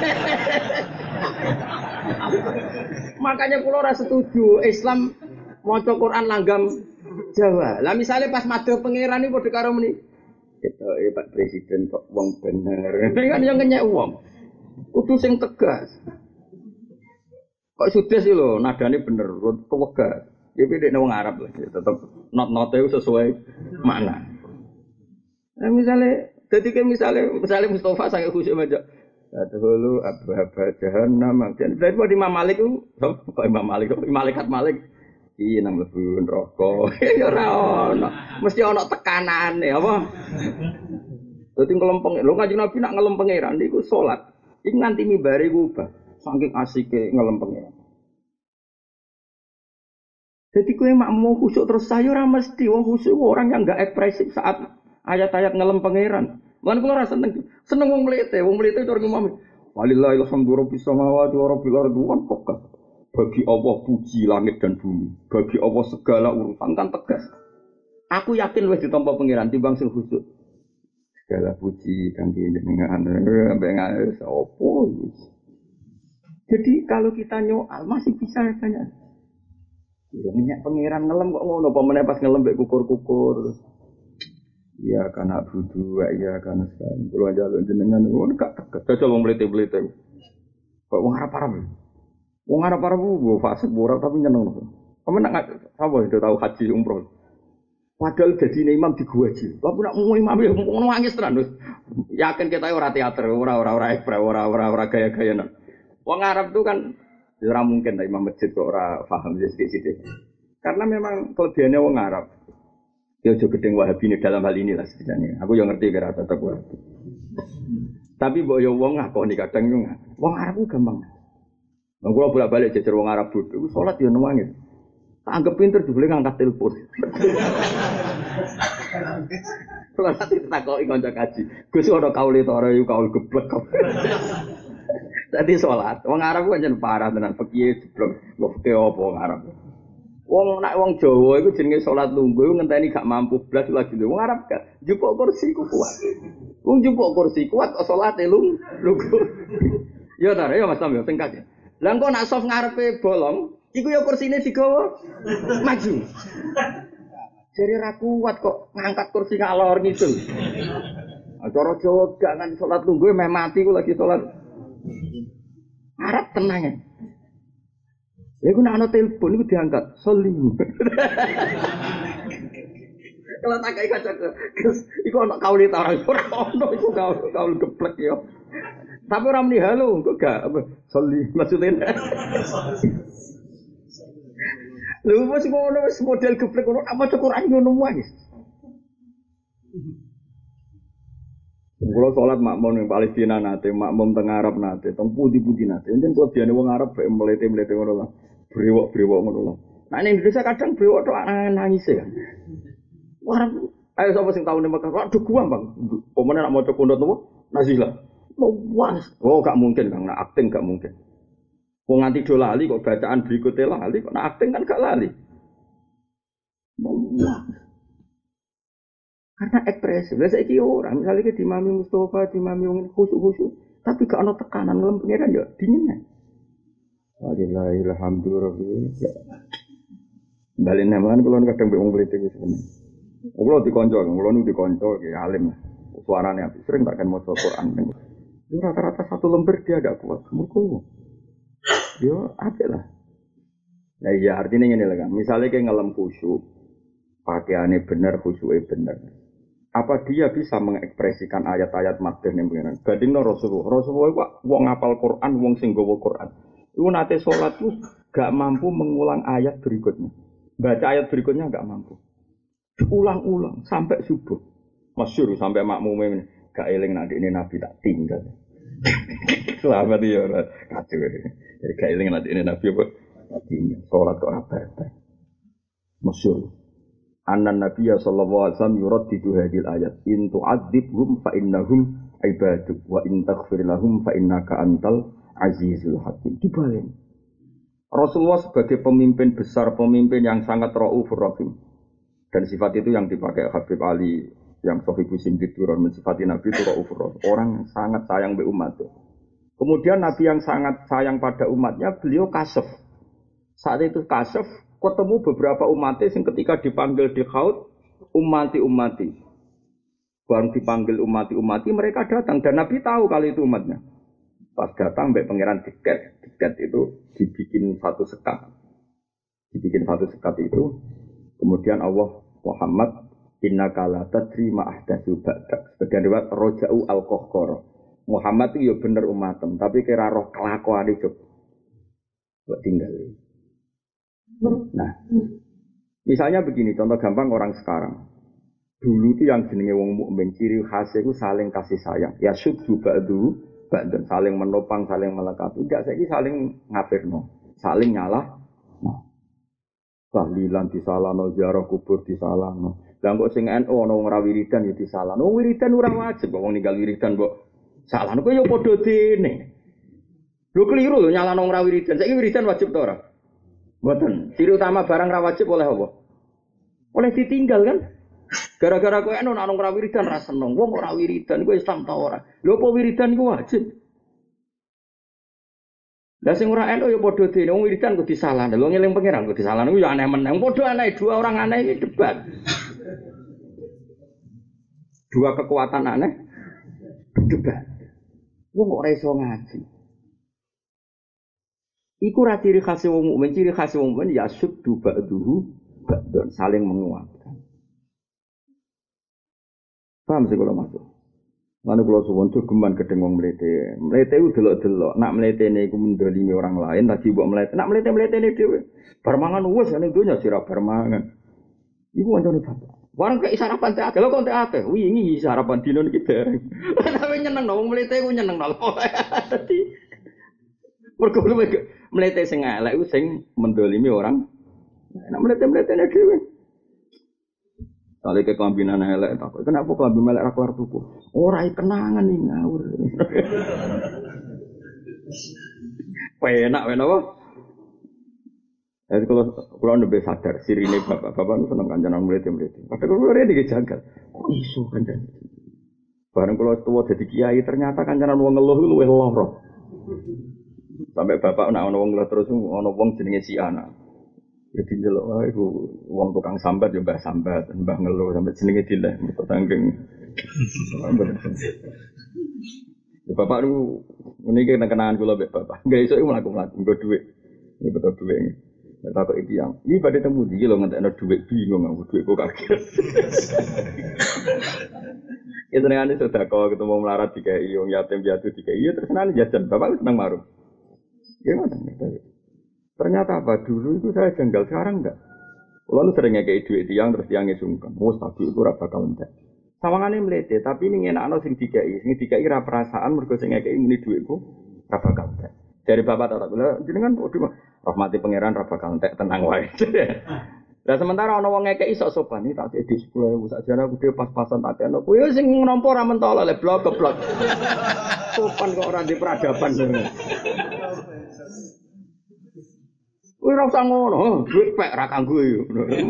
Makanya kula ora setuju Islam maca Quran langgam Jawa. Lah misale pas madhah pangeran iki padha karo meni. Ketoke Pak Presiden kok wong bener. Kan yo ngenyek wong. Kudu sing tegas. Kok sudes iki lho, nadane bener, kewegas. Ya beda wong Arab lah, tetep not-note itu sesuai makna. Nah, misalnya, jadi kan misalnya, misalnya Mustafa sangat khusyuk baca. Dahulu abah-abah jahannam. Dari pada Imam Malik itu, kok Imam Malik, Malaikat Malik. Iya nang mlebu neraka. Ya ora ono. Mesti ono tekanane, apa? Dadi ngelempeng. Lho Kanjeng Nabi nak ngelempeng pangeran niku salat. Iki nganti mimbare ku ubah. Saking asike ngelempeng pangeran. Jadi kowe mak mau khusyuk terus saya ora mesti wong khusyuk orang yang enggak ekspresif saat ayat-ayat ngelem pangeran. Lan kula ora seneng. Seneng wong mlete, wong mlete tur ngomong. Walillahil hamdu rabbis samawati wa rabbil ardi wa pokas. Bagi Allah puji langit dan bumi. Bagi Allah segala urusan kan tegas. Aku yakin wis ditampa pangeran timbang sing khusyuk. Segala puji kangge jenengan ambek ngae sapa. Jadi kalau kita nyoal masih bisa banyak. Ya minyak pangeran ngelem kok ngono apa meneh pas ngelem mbek kukur-kukur. Iya kana budu, iya kana san. Kulo njaluk jenengan ngono gak tegas. Cocok wong mlete-mlete. Kok wong arep-arep. Wong arep-arep ku fasik ora tapi nyeneng. Kamu nak apa itu tahu haji umroh. Padahal dadine imam di gua haji. Lah nak mau imam ya ngono nangis tenan wis. Yakin kita ora teater, ora ora ora ekspres, ora ora ora gaya-gayanan. Wong Arab tuh kan ora mungkin lah imam masjid kok ora paham sithik-sithik. Karena memang kelebihannya wong Arab. Ya aja gedeng Wahabi dalam hal ini lah sebenarnya. Aku yang ngerti kira tetep Wahabi. Tapi mbok yo wong ngakoni kadang yo wong Arab ku gampang. Wong kula bolak-balik jejer wong Arab bodho, salat yo nangis. Tak anggap pinter jebule ngangkat telepon. Kalau nanti takoki kanca kaji, Gus ana kaule to ora yo kaul geblek. Tadi sholat, wong Arab ku pancen parah tenan, piye jeblok, lho ke apa wong Arab. Wong nak wong Jawa iku jenenge sholat lungguh iku ngenteni gak mampu blas lagi lho. Wong Arab gak njupuk kursi ku kuat. Wong njupuk kursi kuat kok salate lung lungguh. Ya ta, ya Mas Tam ya singkat. Lah engko nak soft ngarepe bolong, iku ya kursine digawa maju. Jare ra kuat kok ngangkat kursi ngalor ngidul. Acara Jawa jangan salat lungguh meh mati ku lagi salat. Arep tenang ya. Ya ku nak ana telepon iku diangkat, soli. Kalau tak kayak kaca terus, iku ana kauli ta ora ono iku kaul kaul geblek ya. Tapi ora muni halo, kok gak apa soli maksudnya. Lha wis ngono wis model geblek ngono apa Quran ngono wae. Kulo salat makmum ning Palestina nate, makmum teng Arab nate, teng pundi-pundi nate. Enten kelebihane wong Arab bae mlete-mlete ngono lah. Brewok-brewok ngono lah. Nah ning Indonesia kadang brewok tok nangis ya. Wah, ayo sapa sing tau ning Mekah? Waduh gua, Bang. Pomene nak maca pondok nopo? Nazilah. Luas. Oh, gak mungkin, Kang. Nak akting gak mungkin. Wong nganti do lali kok bacaan berikutnya lali, kok nak akting kan gak lali. Wah. Karena ekspresi. Lah saiki ora, misale ki dimami Mustofa, dimami wong khusyuk-khusyuk, tapi gak ana tekanan ngelem pengiran yo dingin. Alhamdulillah. Balen namalan kula kadang mbek wong mrete wis semen. Kula dikonco, kula nu dikonco ki alim. Suarane apik, sering tak kan maca Quran. Itu rata-rata satu lembar dia ada kuat. Mergo yo apik lah. Nah iya artinya ngene lho kan. Misale ki ngelem khusyuk, pakaiane bener, khusyuke bener. Apa dia bisa mengekspresikan ayat-ayat madhah ning pengiran? Bandingno Rasulullah. Rasulullah kok wong ngapal Quran, wong sing nggawa Quran. Iku nate salat tuh gak mampu mengulang ayat berikutnya. Baca ayat berikutnya gak mampu. Ulang-ulang sampai subuh. Masyhur sampai makmume ini gak eling nek ini Nabi tak tinggal. Selamat ya ora kacau. Jadi gak eling nek ini Nabi apa tak tinggal. Salat kok ora batal. Masyhur. Annan Nabiyya sallallahu alaihi wasallam yuraddidu hadhil ayat in tu'adzibhum fa innahum ibaduk wa in taghfir lahum fa innaka antal azizul hakim. Dibalik. Rasulullah sebagai pemimpin besar, pemimpin yang sangat raufur rahim. Dan sifat itu yang dipakai Habib Ali yang Sahih Muslim diturun mensifati Nabi itu raufur rahim. Orang yang sangat sayang be umatnya. Kemudian Nabi yang sangat sayang pada umatnya, beliau kasaf. Saat itu kasaf, ketemu beberapa umatnya yang ketika dipanggil di khaut, umati-umati. Baru dipanggil umati-umati, mereka datang. Dan Nabi tahu kalau itu umatnya. Pas datang, mbak pangeran tiket. Tiket itu dibikin satu sekat. Dibikin satu sekat itu. Kemudian Allah Muhammad, innaka la tadri ma ahdatsu ba'dak. Sebagian riwayat roja'u al-qahqara. Muhammad itu ya bener umatem, tapi kira roh kelakuan itu. Buat tinggal. Nah, misalnya begini, contoh gampang orang sekarang. Dulu itu yang jenenge wong mukmin ciri khasnya itu saling kasih sayang. Ya subdu ba'du, ba'dan saling menopang, saling melengkapi. Enggak, saiki saling ngafirno, saling nyalah. Nah. Tahlilan disalahno, ziarah kubur disalahno. Lah kok sing N U ana wong ra wiridan ya disalahno. Wiridan ora wajib kok wong ninggal wiridan kok salahno kok ya padha dene. Lho keliru lho nyalahno wong ra wiridan. Saiki wiridan wajib ta ora? Mboten. Ciri utama barang ra wajib oleh apa? Oleh ditinggal kan? Gara-gara kowe ana wong ra wiridan ra seneng. Wong ora wiridan kowe Islam ta ora? Lho apa wiridan iku wajib? Lah sing ora N U ya padha dene wong wiridan kok disalahno. Lho ngeling pangeran kok disalahno ya aneh meneh. Padha aneh dua orang aneh iki debat. Dua kekuatan aneh debat. Wong ora iso ngaji. Iku ra ciri khas wong mukmin, ciri khas wong mukmin ya subdu ba'duhu ba'dan saling menguatkan. Paham sih kalau masuk. Lalu kalau suwon geman gedeng wong mlete. Mlete ku delok-delok, nak mletene iku mendolimi orang lain, lagi mbok mlete. Nak mlete-mletene dhewe. Bar mangan wis ning donya sira bar mangan. Iku wancane bapak. Warang kek sarapan teh akeh, lho kok teh akeh. Wingi sarapan dino iki dereng. Tapi nyeneng no wong mlete ku nyeneng no. Dadi mergo mlete sing elek ku sing mendolimi orang. Nak mlete-mletene dhewe. Kali ke kelambinan elek tak. Kenapa kelambi melek ra keluar tuku? Ora kenangan nih ngawur. Penak penak apa? Jadi kalau kalau lebih sadar sirine bapak-bapak itu seneng kancanan mlete-mlete. Padahal kalau ora dijagal. Kok iso kancan? Bareng kalau tua jadi kiai ternyata kancanan wong ngeluh luwih lara. Sampai bapak nak ono wong terus ono wong jenenge si anak. Jadi njelok wae iku wong tukang sambat ya mbah sambat, mbah ngeluh sampai jenenge dileh mergo tangking. Ya bapak lu ngene iki kenangan kula mbek bapak. Enggak iso mlaku-mlaku nggo dhuwit. Ya betul dhuwit. Nek tak iki yang, iki badhe temu iki lho ngentekno dhuwit bingung aku dhuwit kok kaget. Ya ternyata sedekah ketemu melarat dikai wong yatim piatu dikai. Ya terus nang jajan bapak seneng marung. Gimana? Ternyata apa dulu itu saya jenggal, sekarang enggak. Lalu sering ngekei duit tiang terus tiangnya sungkan. Mau stabil itu rasa bakal entek. Sawangane mlete, tapi ini ngenakno sing dikai, sing dikai ra perasaan mergo sing ngekei muni duitku ra bakal entek. Dari bapak tak bilang, jenengan waduh rahmati pangeran ra bakal entek tenang wae. Lah sementara ana wong ngekei sok sopan iki tak di sepuluh ribu sakjane aku dhewe pas-pasan tak kene. Kuwi sing nampa ra mentol le blok keblok. Sopan kok ora di peradaban. Kuwi ora usah ngono, duit pek ra kanggo yo.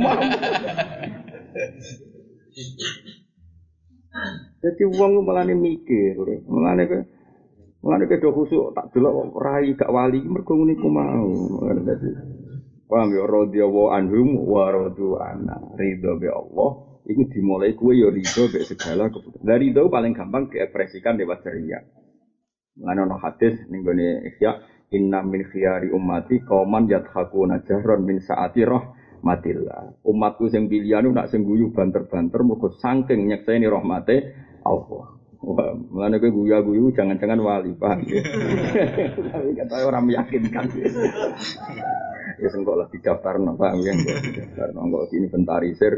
Jadi wong malane mikir, malane ke malane ke do khusuk tak delok rai gak wali mergo ngene iku mau. Dadi paham ya radhiyallahu anhum wa radu anna. Ridho be Allah iku dimulai kowe ya ridho be segala keputusan. Dari ridho paling gampang diekspresikan lewat ceria. Mulane ana hadis ning gone Ihya inna min khiyari ummati qauman yadhakuna jahran min saati rahmatillah. Umatku sing pilihan nak sing guyu banter-banter mergo saking nyekseni rahmate Allah. Wah, mulane kowe guyu-guyu jangan-jangan wali, paham ya. Tapi kata orang meyakinkan. Ya sengkok lah didaftarno, paham ya. Didaftarno kok inventarisir.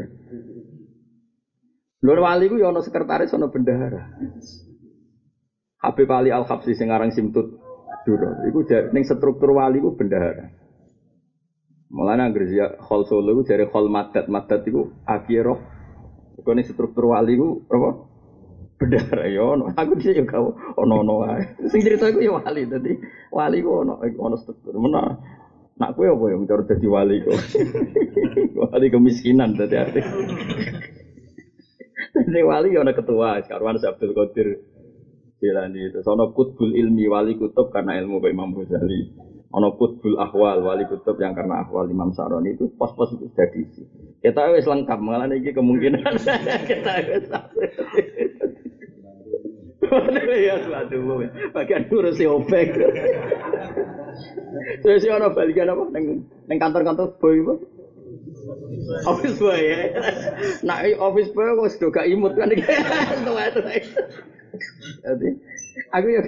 Lur wali ku ya ana sekretaris ana bendahara. Habib Ali Al-Habsyi sing aran Simtut Duro, iku ning struktur wali ku bendahara. Mulane anggere ya Khol Solo iku jare Khol Madat, Madat iku akhirah. Iku ning struktur wali ku apa? Bendahara ya ono. Aku dhisik yo gak ono-ono wae. Sing cerita iku ya wali, dadi wali ku ono ono struktur. Mena nak kowe apa yo cara dadi wali kok. Wali kemiskinan dadi arti. Dadi wali yo ana ketua, Karwan Abdul Qadir Jilani itu, ono kutbul ilmi wali kutub karena ilmu Imam Ghazali, ono kutbul ahwal wali kutub yang karena ahwal Imam Saroni itu pos-pos itu sudah diisi. Kita wis lengkap, malah ini kemungkinan kita wis ya suatu bagian ngurusi opek. Terus ono balikan apa neng neng kantor-kantor boy apa? Office boy ya. Nah office boy kok sudah gak imut kan iki. Jadi, aku ya.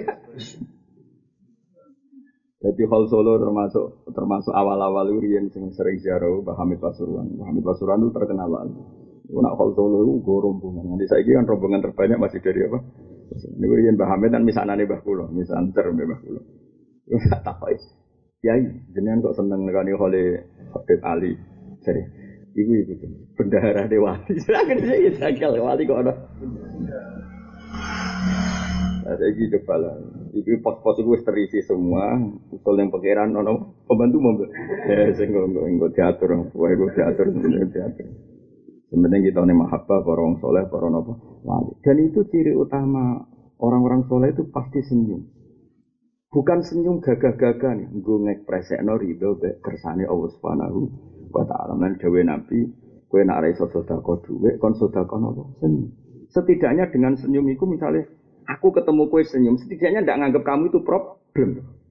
Jadi Hal Solo termasuk termasuk awal-awal urian sing sering ziarah Mbah Hamid Pasuruan. Mbah Hamid Pasuruan itu terkenal banget. Nak Hal Solo itu go rombongan. Nanti saiki kan rombongan terbanyak masih dari apa? Ini urian Mbah Hamid dan misanane Mbah Kula, misanter Mbah Kula. Tak kok. Yai, jenengan kok seneng nekani Khole Habib Ali. Jadi, ibu ibu bendahara Dewati. Silakan sih jagal wali kok ada. Nah, saya gitu kepala. Ibu pos-pos itu terisi semua. Usul yang pikiran, nono pembantu mobil. Ya, saya nggak nggak diatur, wah gue diatur, diatur. Sebenarnya kita nih mahabbah, para orang soleh, para nopo. Dan itu ciri utama orang-orang soleh itu pasti senyum. Bukan senyum gagah-gagah nih, gue ngekspresekno ridho kersane Allah Subhanahu wa taala. Lan dawuh Nabi, kowe nek ora iso sedekah dhuwit, kon sedekah nopo? Senyum. Setidaknya dengan senyum itu misalnya aku ketemu kowe senyum, setidaknya ndak nganggap kamu itu problem.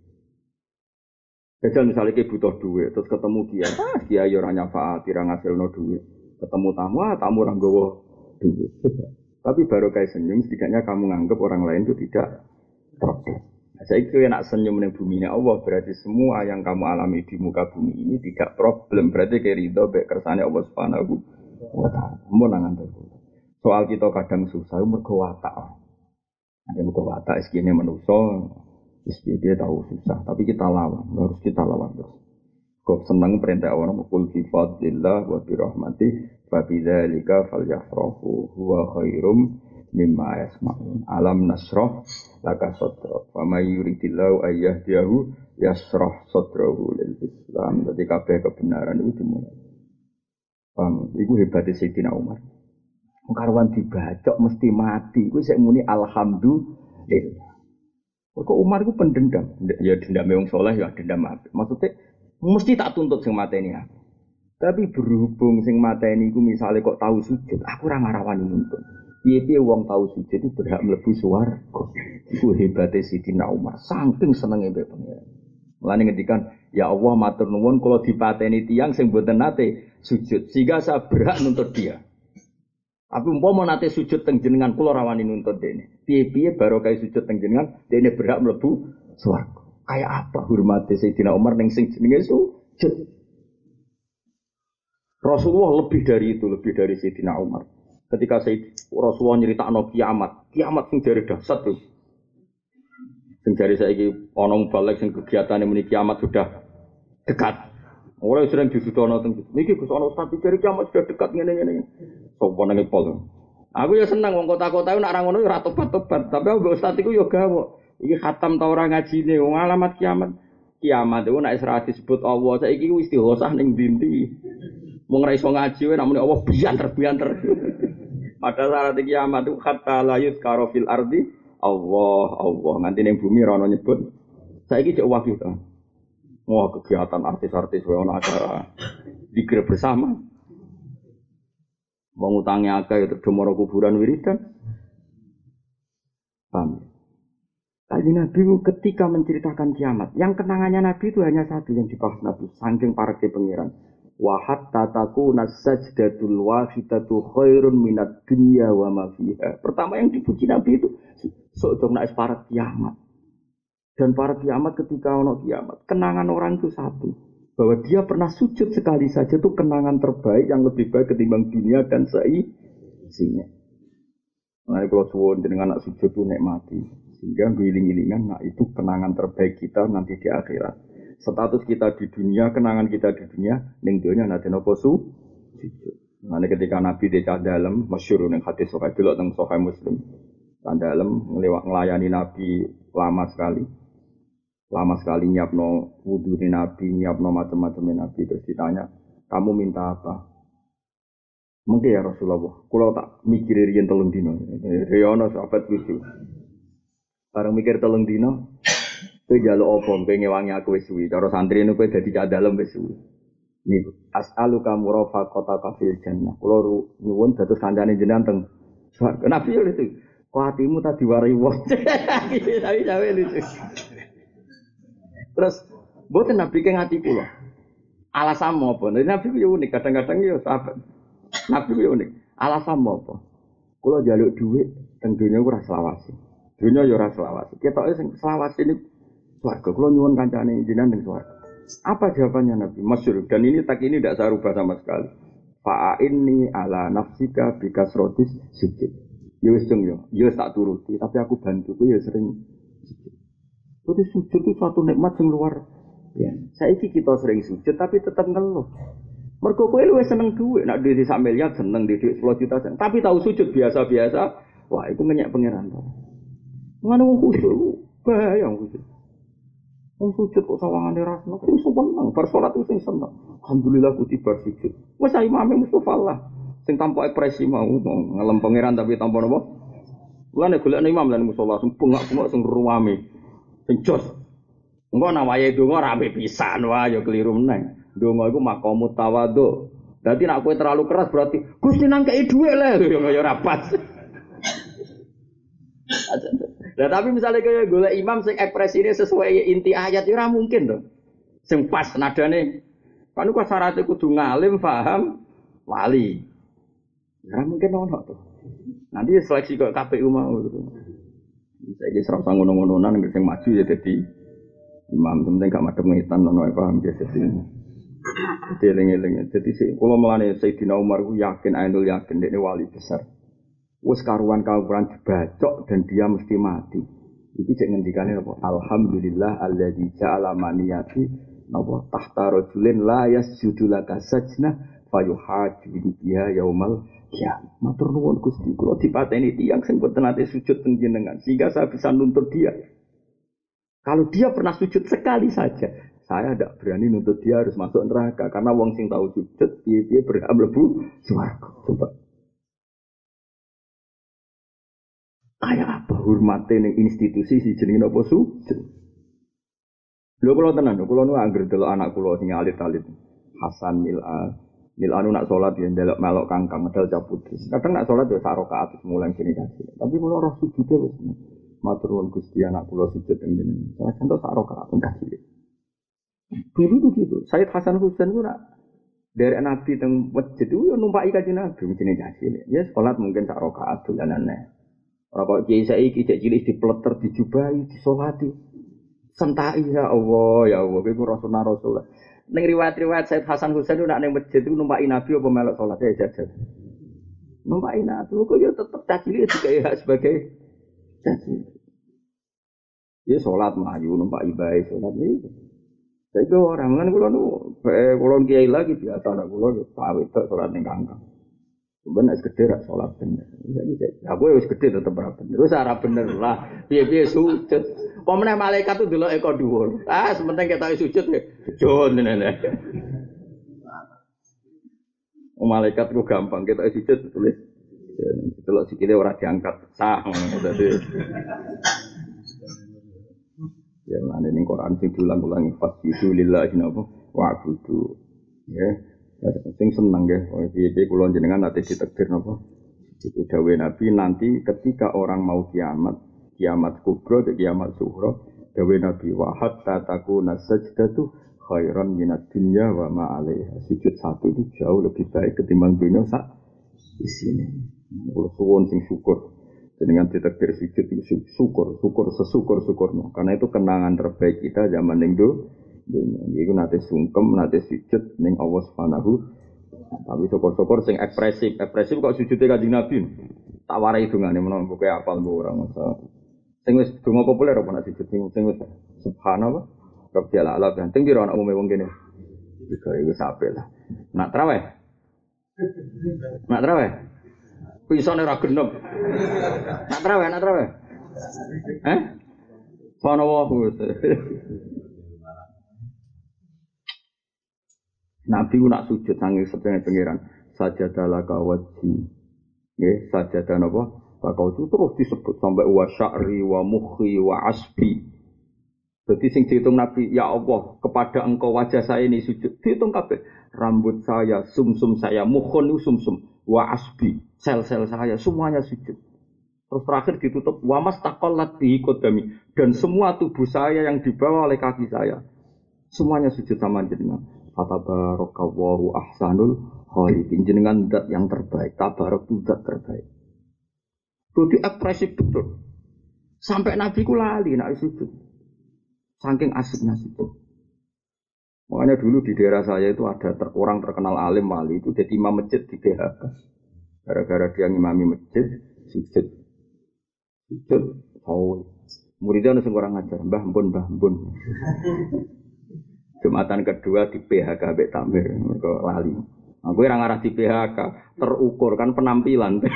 Jajal misalnya kayak butuh duit, terus ketemu dia, ah dia ya orang nyafaat, tidak ngasilno duit. Ketemu tamu, ah tamu orang gowo duit. Tapi baru kayak senyum, setidaknya kamu nganggap orang lain itu tidak problem. Nah, saya kira nak senyum di bumi ini Allah, berarti semua yang kamu alami di muka bumi ini tidak problem. Berarti kayak ridho, baik kersane Allah Subhanahu wa taala. Mau nangan terus. Soal kita kadang susah, mergo watak. Ada mergo watak segini manusia, dia tahu susah, tapi kita lawan, harus kita lawan terus. Kau senang perintah Allah, qul fi fadlillah wa bi rahmatih fa bidzalika falyafrahu huwa khairum mimma yasma'un. Alam nasrah laka sadra. Fa may yuridillahu ayyahdiyahu yasrah sadrahu lil Islam. Jadi kabeh kebenaran itu dimulai. Paham? Iku hebatnya Sayyidina Umar. Karwan dibacok mesti mati. Iku sik muni alhamdulillah. Kok Umar itu pendendam? Ya dendam wong saleh ya dendam apik. Maksudnya mesti tak tuntut sing mateni aku. Tapi berhubung sing mateni iku misale kok tahu sujud, aku ora ngarawani nuntut. Piye-piye wong tahu sujud itu berhak mlebu swarga. Iku hebate Sidina Umar, saking senenge mbek pengen. Mulane ngendikan, ya Allah matur nuwun kula dipateni tiyang sing mboten nate sujud, sehingga saya berhak nuntut dia. Tapi umpama nate sujud teng jenengan kula rawani nuntut dene. Piye-piye barokah sujud teng jenengan dene berhak mlebu swarga. Kayak apa hormate Sayyidina Umar ning sing jenenge sujud. Rasulullah lebih dari itu, lebih dari Sayyidina Umar. Ketika Sayyid Rasulullah nyeritakno kiamat, kiamat sing jare dahsyat tuh. Sing jare saiki ana balik sing kegiatane muni kiamat sudah dekat. Ora sering disudono teng niki Gus ana ustaz pikir kiamat sudah dekat ngene-ngene. Sopo nang pol. Aku ya seneng wong kota-kota nak ra ngono ya ora tobat-tobat, tapi aku ustaz iku ya gawok. Iki khatam ta ora ngajine wong alamat kiamat. Kiamat itu nek ora disebut Allah saiki ku istighosah ning ndi. Wong ra iso ngaji wae nak muni Allah bianter-bianter. Padahal syarat kiamat itu hatta la yuzkara fil ardi Allah Allah nanti ning bumi ra ono nyebut. Saiki cek wahyu ta. Wah kegiatan artis-artis wae ana acara dikir bersama. Wong utange akeh terus moro kuburan wiridan. Paham? Tadi Nabi ketika menceritakan kiamat, yang kenangannya Nabi itu hanya satu yang dibahas Nabi, saking pareke pengiran. Wa hatta takuna sajdatul wahidatu khairun minad dunya wa ma fiha. Pertama yang dipuji Nabi itu sok dong nek para kiamat. Dan para kiamat ketika ono kiamat, kenangan orang itu satu, bahwa dia pernah sujud sekali saja itu kenangan terbaik yang lebih baik ketimbang dunia dan seisinya. Nah, kalau suwon dengan anak sujud itu nikmati, sehingga giling-gilingan, nah itu kenangan terbaik kita nanti di akhirat. Status kita di dunia, kenangan kita di dunia, ning dunia nanti nopo sujud. Nah, ketika Nabi di dalam masyhur ning hadis Sahih delok teng Sahih Muslim, dalam ngelewat ngelayani Nabi lama sekali. Lama sekali nyiapno wudu di Nabi, nyiapno macam-macam Nabi, terus ditanya, kamu minta apa? Mungkin ya Rasulullah, kalau tak mikir riyen telung dino, riyono sahabat lucu. Bareng mikir telung dino, kowe njaluk apa? Kowe ngewangi aku wis suwi. Cara santri niku kowe dadi cah dalem wis suwi. Niku as'aluka murafaqataka fil jannah. Kula nyuwun dados kancane jenengan teng swarga. Nabi yo itu. Kok atimu tak diwarai wong. Tapi jawe lucu. Terus, mboten Nabi ke ngati kula. Alasan apa? Nabi ku unik, kadang-kadang yo sahabat. Nabi ku unik. Alasan apa? Kula njaluk dhuwit teng donya ku ora selawase. Donya yo ora selawase. Ketoke sing selawase niku swarga. Kula nyuwun kancane jenengan teng swarga. Apa jawabannya Nabi? Masyhur. Dan ini tak ini tidak saya rubah sama sekali. Fa'inni ala nafsika bikasrotis sujud. Ya wis dong yo. Ya tak turuti, tapi aku bantu ku ya sering sujud. Jadi sujud itu suatu nikmat yang luar biasa. Saiki kita sering sujud tapi tetap ngeluh. Mergo kowe luwih seneng dhuwit, nek dhuwit sak miliar seneng dhuwit sepuluh juta seneng. Tapi tahu sujud biasa-biasa, wah itu ngenyek pangeran to. Ngono wong khusyuk, bahaya wong khusyuk. Wong sujud kok sawangane ra seneng, wis seneng, bar salat wis seneng. Alhamdulillah ku tiba sujud. Wis imame Mustofa lah. Sing tanpa ekspresi mau ngelem pangeran tapi tanpa napa? Mulane golekne imam lan musala sing bengak-bengak sing ruwame. Sing jos. Engko ana wayahe donga rapi pisan wae ya keliru meneh. Donga iku maqamut tawadhu. Dadi nek kowe terlalu keras berarti Gusti nang kei dhuwit le ya ora pas. Lah tapi misalnya kaya golek imam sing ekspresine sesuai inti ayat ya ora mungkin to. Sing pas nadane. Kan kok syaratnya kudu ngalim, paham, wali. Ya ora mungkin ono to. Nanti seleksi kok K P U mau gitu. Saiki serap ngono-ngononan nek sing maju ya dadi imam, penting gak madhep ngitan ono paham ya dadi. Dadi eling-eling. Dadi sik kula mulane Sayyidina Umar ku yakin ainul yakin dekne wali besar. Wis karuan kawuran dibacok dan dia mesti mati. Iki cek ngendikane apa? Alhamdulillah alladzi ja'ala maniyati napa tahta rajulin la yasjudu laka sajna fayuhaju biha yaumal ya, matur nuwun Gusti, kula dipateni tiyang sing boten nate sujud teng jenengan sehingga saya bisa nuntut dia. Kalau dia pernah sujud sekali saja, saya tidak berani nuntut dia harus masuk neraka karena wong sing tahu sujud piye-piye berhak mlebu swarga. Coba. Kayak apa? hormate ning institusi si jenenge apa sujud. Lho kula tenan, kula nu anggere delok anak kula sing alit-alit. Hasan Mil'a, Mil'a nu nak salat ya ndelok melok kangkang medal caputri. Kadang nak salat ya sak rakaat mulai kene kasih. Tapi kula roh sujude wis matur nuwun Gusti anak kula sujud teng ngene. Saya contoh sak rakaat kasih. Dulu tuh gitu. Sayyid Hasan Husain ku nak dari Nabi teng masjid itu yo numpaki kanjeng Nabi jenenge kasih. Ya salat mungkin sak rakaat dolanane. Ora kok kiai saiki cek cilik dipleter dijubahi disolati. Sentai ya Allah, ya Allah, itu Rasulullah Rasulullah. Neng riwayat-riwayat Sayyid Hasan Husain itu nak neng masjid itu numpaki Nabi apa melok sholat ya jajan. Numpaki Nabi, kok ya tetap cacili juga ya sebagai cacili. Ya sholat maju numpaki baik sholat ini. Saya itu orang kan kalau nu, kalau kiai lagi biasa nak kalau tahu itu sholat neng kangkang. Bener segede rak sholat bener. Aku ya segede tetap rak bener. Terus arah bener lah. Biar-biar sujud. Pemenang malaikat itu dulu eko dhuwur. Ah, sementing kita sujud ya. Sujud nenek. Oh, malaikat itu gampang kita sujud tulis. Delok sikile ora diangkat sah ngono dadi. Ya lan ning Quran sing diulang-ulangi fasjudu lillahi wa abudu. Ya. Ya, sing seneng ya, piye-piye kula jenengan nate ditakdir napa? Itu dawuh Nabi nanti ketika orang mau kiamat, kiamat kubra dan kiamat sughra, dawuh Nabi wa hatta takuna sajdatu khairan minad dunya wa ma 'alaiha. Sujud satu itu jauh lebih baik ketimbang dunia sak isine. Kula suwun sing syukur jenengan ditakdir sujud itu syukur, syukur sesyukur-syukurnya. Karena itu kenangan terbaik kita zaman ning itu nanti sungkem, nanti sujud ning Allah Subhanahu. Tapi syukur-syukur sing ekspresif, ekspresif kok sujudnya Kanjeng Nabi. Tak warai dungane menawa buku apal mbok ora masa. Sing wis donga populer apa nek sujud sing sing wis subhanallah. Rabbil alamin. Teng piro ana umume wong kene. Iki wis apik lah. Nak traweh. Nak traweh. Pisane ora genep. Nak traweh, nak traweh. Eh? Subhanallah. Nabi ku nak sujud sange sedene pangeran sajadalah kawaji. Nggih, sajadah napa? Bakau itu terus disebut sampai wa sya'ri wa mukhi wa asbi. Jadi sing dihitung Nabi, ya Allah, kepada engkau wajah saya ini sujud. Dihitung kabeh. Rambut saya, sumsum saya, mukhun itu sumsum, wa asbi, sel-sel saya semuanya sujud. Terus terakhir ditutup wa mastaqallat bihi qadami, dan semua tubuh saya yang dibawa oleh kaki saya semuanya sujud sama jenengan. Fatabarakallahu ahsanul khaliqin, jenengan zat yang terbaik, tabarak itu zat terbaik. Jadi ekspresif betul. Sampai Nabi ku lali nak sujud. Saking asiknya sujud. Makanya dulu di daerah saya itu ada ter, orang terkenal alim wali itu jadi imam masjid di B H K. Gara-gara dia ngimami masjid, sujud. Sujud, oh. Muridnya ada orang ngajar, mbah mbun, mbah mbun. Jumatan kedua di P H K Mbak Tamir, mereka lali. Aku yang ngarah di P H K, terukur kan penampilan.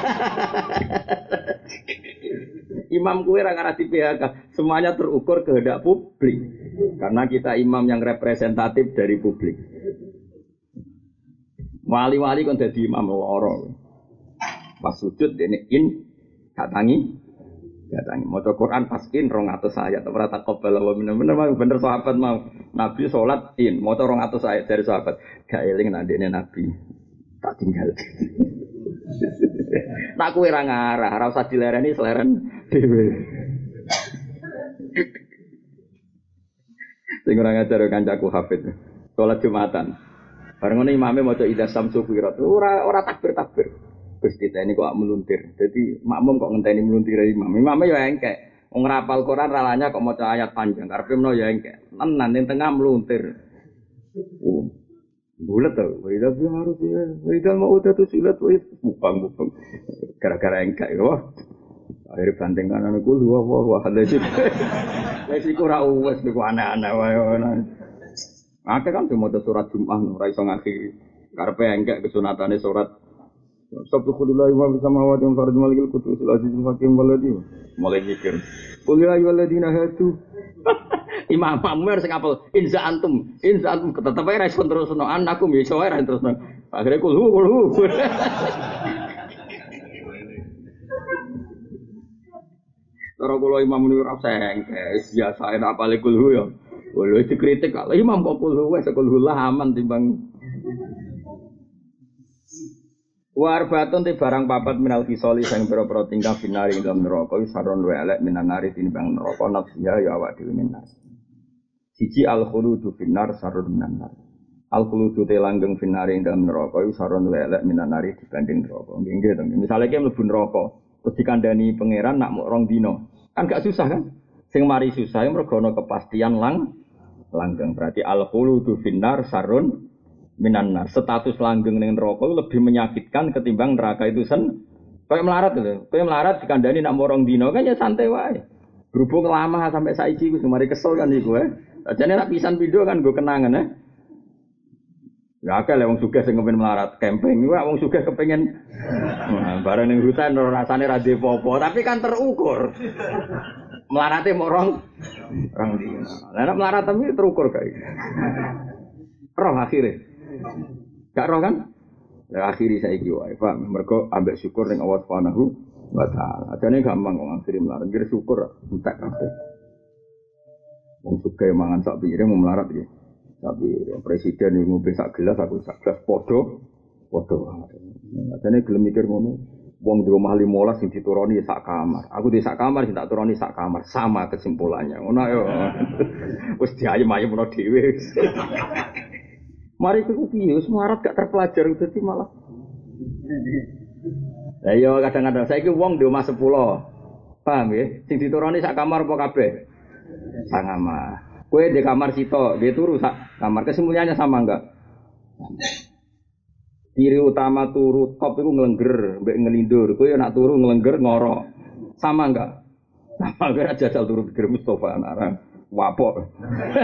Imam kue yang ngarah di P H K, semuanya terukur kehendak publik. Karena kita imam yang representatif dari publik. Wali-wali kan jadi imam loro. Pas sujud ini in, katangi. Datangi maca Quran pas in rong atus ayat ora takobal wa bener-bener mau bener sahabat mau Nabi salat in maca rong atus ayat dari sahabat gak eling nek ndekne Nabi tak tinggal. Nak kowe ora ngarah ora usah dilereni seleren dhewe. Sing ora ngajar kancaku Hafid salat Jumatan bareng ngene imame maca idza samsu kuwirat ora ora takbir-takbir. Terus kita ini kok meluntir. Jadi makmum kok ngenteni meluntir imam. Imamnya ya engkek. Wong ngrapal Quran ralanya kok maca ayat panjang. Karepe menawa ya engkek. Tenan ning tengah meluntir. Oh. Bulat to. Wida harus ya. Wida mau udah tuh silat wis bupang-bupang. Gara-gara engkek yo. Akhire banting kanan iku wah wah wah lagi. Wis iku ora wis niku aneh-aneh wae. Akeh kan maca surat Jumat ora iso ngakhiri. Karepe engkek kesunatane surat Subhanallah wa bihamdihi wa farad malikul qudus al-aziz al-hakim waladi. Mulai mikir. Qul ya ayyuhalladzina hadu. Imam Amr sing apal inza antum, inza antum tetep ae ra iso terusno anakum ya iso ae ra terusno. Akhire kul hu kul hu. cara kula Imam niku ora sengke, biasa enak apale kulhu ya. Lho dikritik kok Imam kok kulhu wis kulhu lah aman timbang Warbatun ti barang papat minal kisoli sang pira-pira tingkah binari ing dalam neraka wis saron wae elek minan nari tinimbang neraka nafsiya ya awak dhewe minar. Siji al khuludu finar sarun minan nar. Al khuludu te langgeng finari ing dalam neraka wis saron wae elek minan nari dibanding neraka. Nggih nggih to. Misale ki mlebu neraka terus dikandani pangeran nak mok rong dina. Kan gak susah kan? Sing mari susah mergo ana kepastian lang langgeng. Berarti al khuludu finar sarun minanar, status langgeng ning neraka lebih menyakitkan ketimbang neraka itu sen. Kayak melarat lho, kayak melarat dikandani nak morong dino kan ya santai wae. Berhubung lama sampai saiki wis mari kesel kan iku eh. Ajane nak pisan pindho kan nggo kenangan eh. Ya akeh lek wong sugih sing kepen melarat camping, iku wong sugih kepengin nah, bareng ning hutan rasane ra ndek apa-apa, tapi kan terukur. Melarate morong rong dino. Lah nek melarat tapi terukur kae. Roh akhire. Gak roh kan? Ya akhiri saiki wae, Pak. Mergo ambek syukur ning Allah Subhanahu wa taala. Ajane gampang kok akhiri melarat, nggih syukur entek kabeh. Wong sugih mangan sak piring mau melarat iki. Tapi presiden iki ngombe sak gelas aku sak gelas padha padha. Ajane gelem mikir ngono. Wong di omah lima belas sing dituruni sak kamar. Aku di sak kamar sing tak turuni sak kamar, sama kesimpulannya. Ngono yo. Wis diayem-ayem ono dhewe. Mari ku piye wis melarat gak terpelajar dadi malah. Lah yo kadang-kadang saiki wong di omah sepuluh. Paham nggih? Sing dituruni sak kamar apa kabeh? Sak kamar. Kowe di kamar sitok, dia turu sak kamar. Kesimpulannya sama enggak? Ciri utama turu top iku nglengger, mbek ngelindur. Kowe yo nak turu nglengger ngorok. Sama enggak? Sama enggak jajal turu pikir Mustofa anak. Wapok.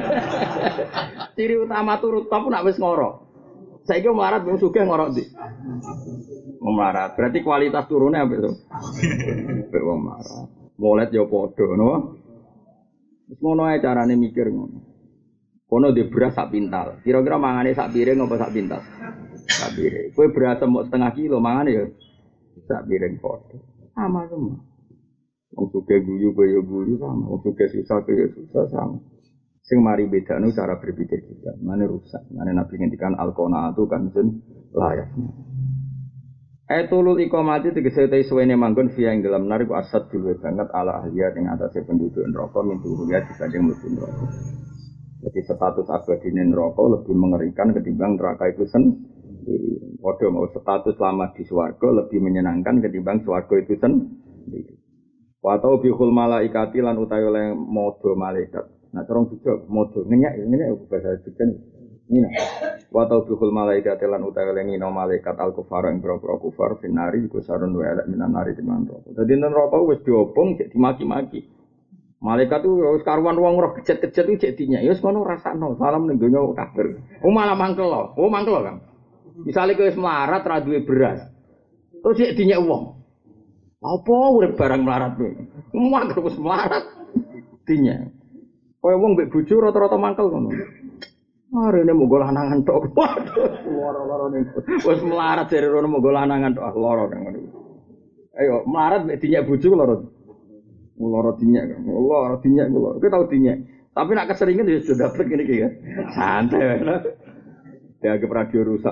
Ciri utama turu top nak wis ngorok. Saiki melarat wong sugih ngorok ndi? Melarat. Berarti kualitas turune apik to. Apik wong melarat. Molet ya padha, no. Wis ngono ae carane mikir ngono. Kono di beras sak pintal. Kira-kira mangane sak piring apa sak pintal? Sak piring. Kowe beras mok setengah kilo mangane ya sak piring padha. Sama semua. Wong sugih guyu kaya guyu sama, wong sugih susah kaya susah sama. Sing mari bedane cara berpikir kita, mane rusak. Mane Nabi ngendikan al-qanaatu kanzun layak. Aitulul iqamati tegese te suwene manggon via ing dalam narik asad dhewe banget ala ahliya ing atase penduduk neraka mintu ya dibanding mlebu neraka. Jadi status abadi neraka lebih mengerikan ketimbang neraka itu sendiri. Padha mau status lama di swarga lebih menyenangkan ketimbang swarga itu sendiri. Wa tau bihul malaikati lan utawi oleh modho malaikat. Nah terong juga modho ngenyak ngenyak bahasa Jawa ini. Wa tau bihul malaikati lan utawi oleh ngino malaikat al kufar ing boro-boro kufar finari iku sarun wa elek minan nari timan neraka. Dadi neraka wis diobong cek dimaki-maki. Malaikat tu wis karuan wong roh kejet-kejet iki cek dinya. Ya wis ngono rasakno. Salam ning donya kafir. Oh malah mangkel lho. Oh mangkel lho kan. Misale kowe wis melarat ra duwe beras. Terus cek dinya wong. Apa urip barang melarat kowe? Muak terus melarat. Dinya. Kowe wong mbek bojo rata-rata mangkel ngono. Arene monggo lanangan tok. Waduh, lara-lara niku. Wis melarat jare rono monggo lanangan tok. Ah lara nang ngono. Ayo melarat mbek dinya bojo lara. Lara dinya kan. Lara dinya kula. Kowe tau dinya. Tapi nak keseringan ya sudah dapat ngene iki ya. Santai wae. Dianggap radio rusak.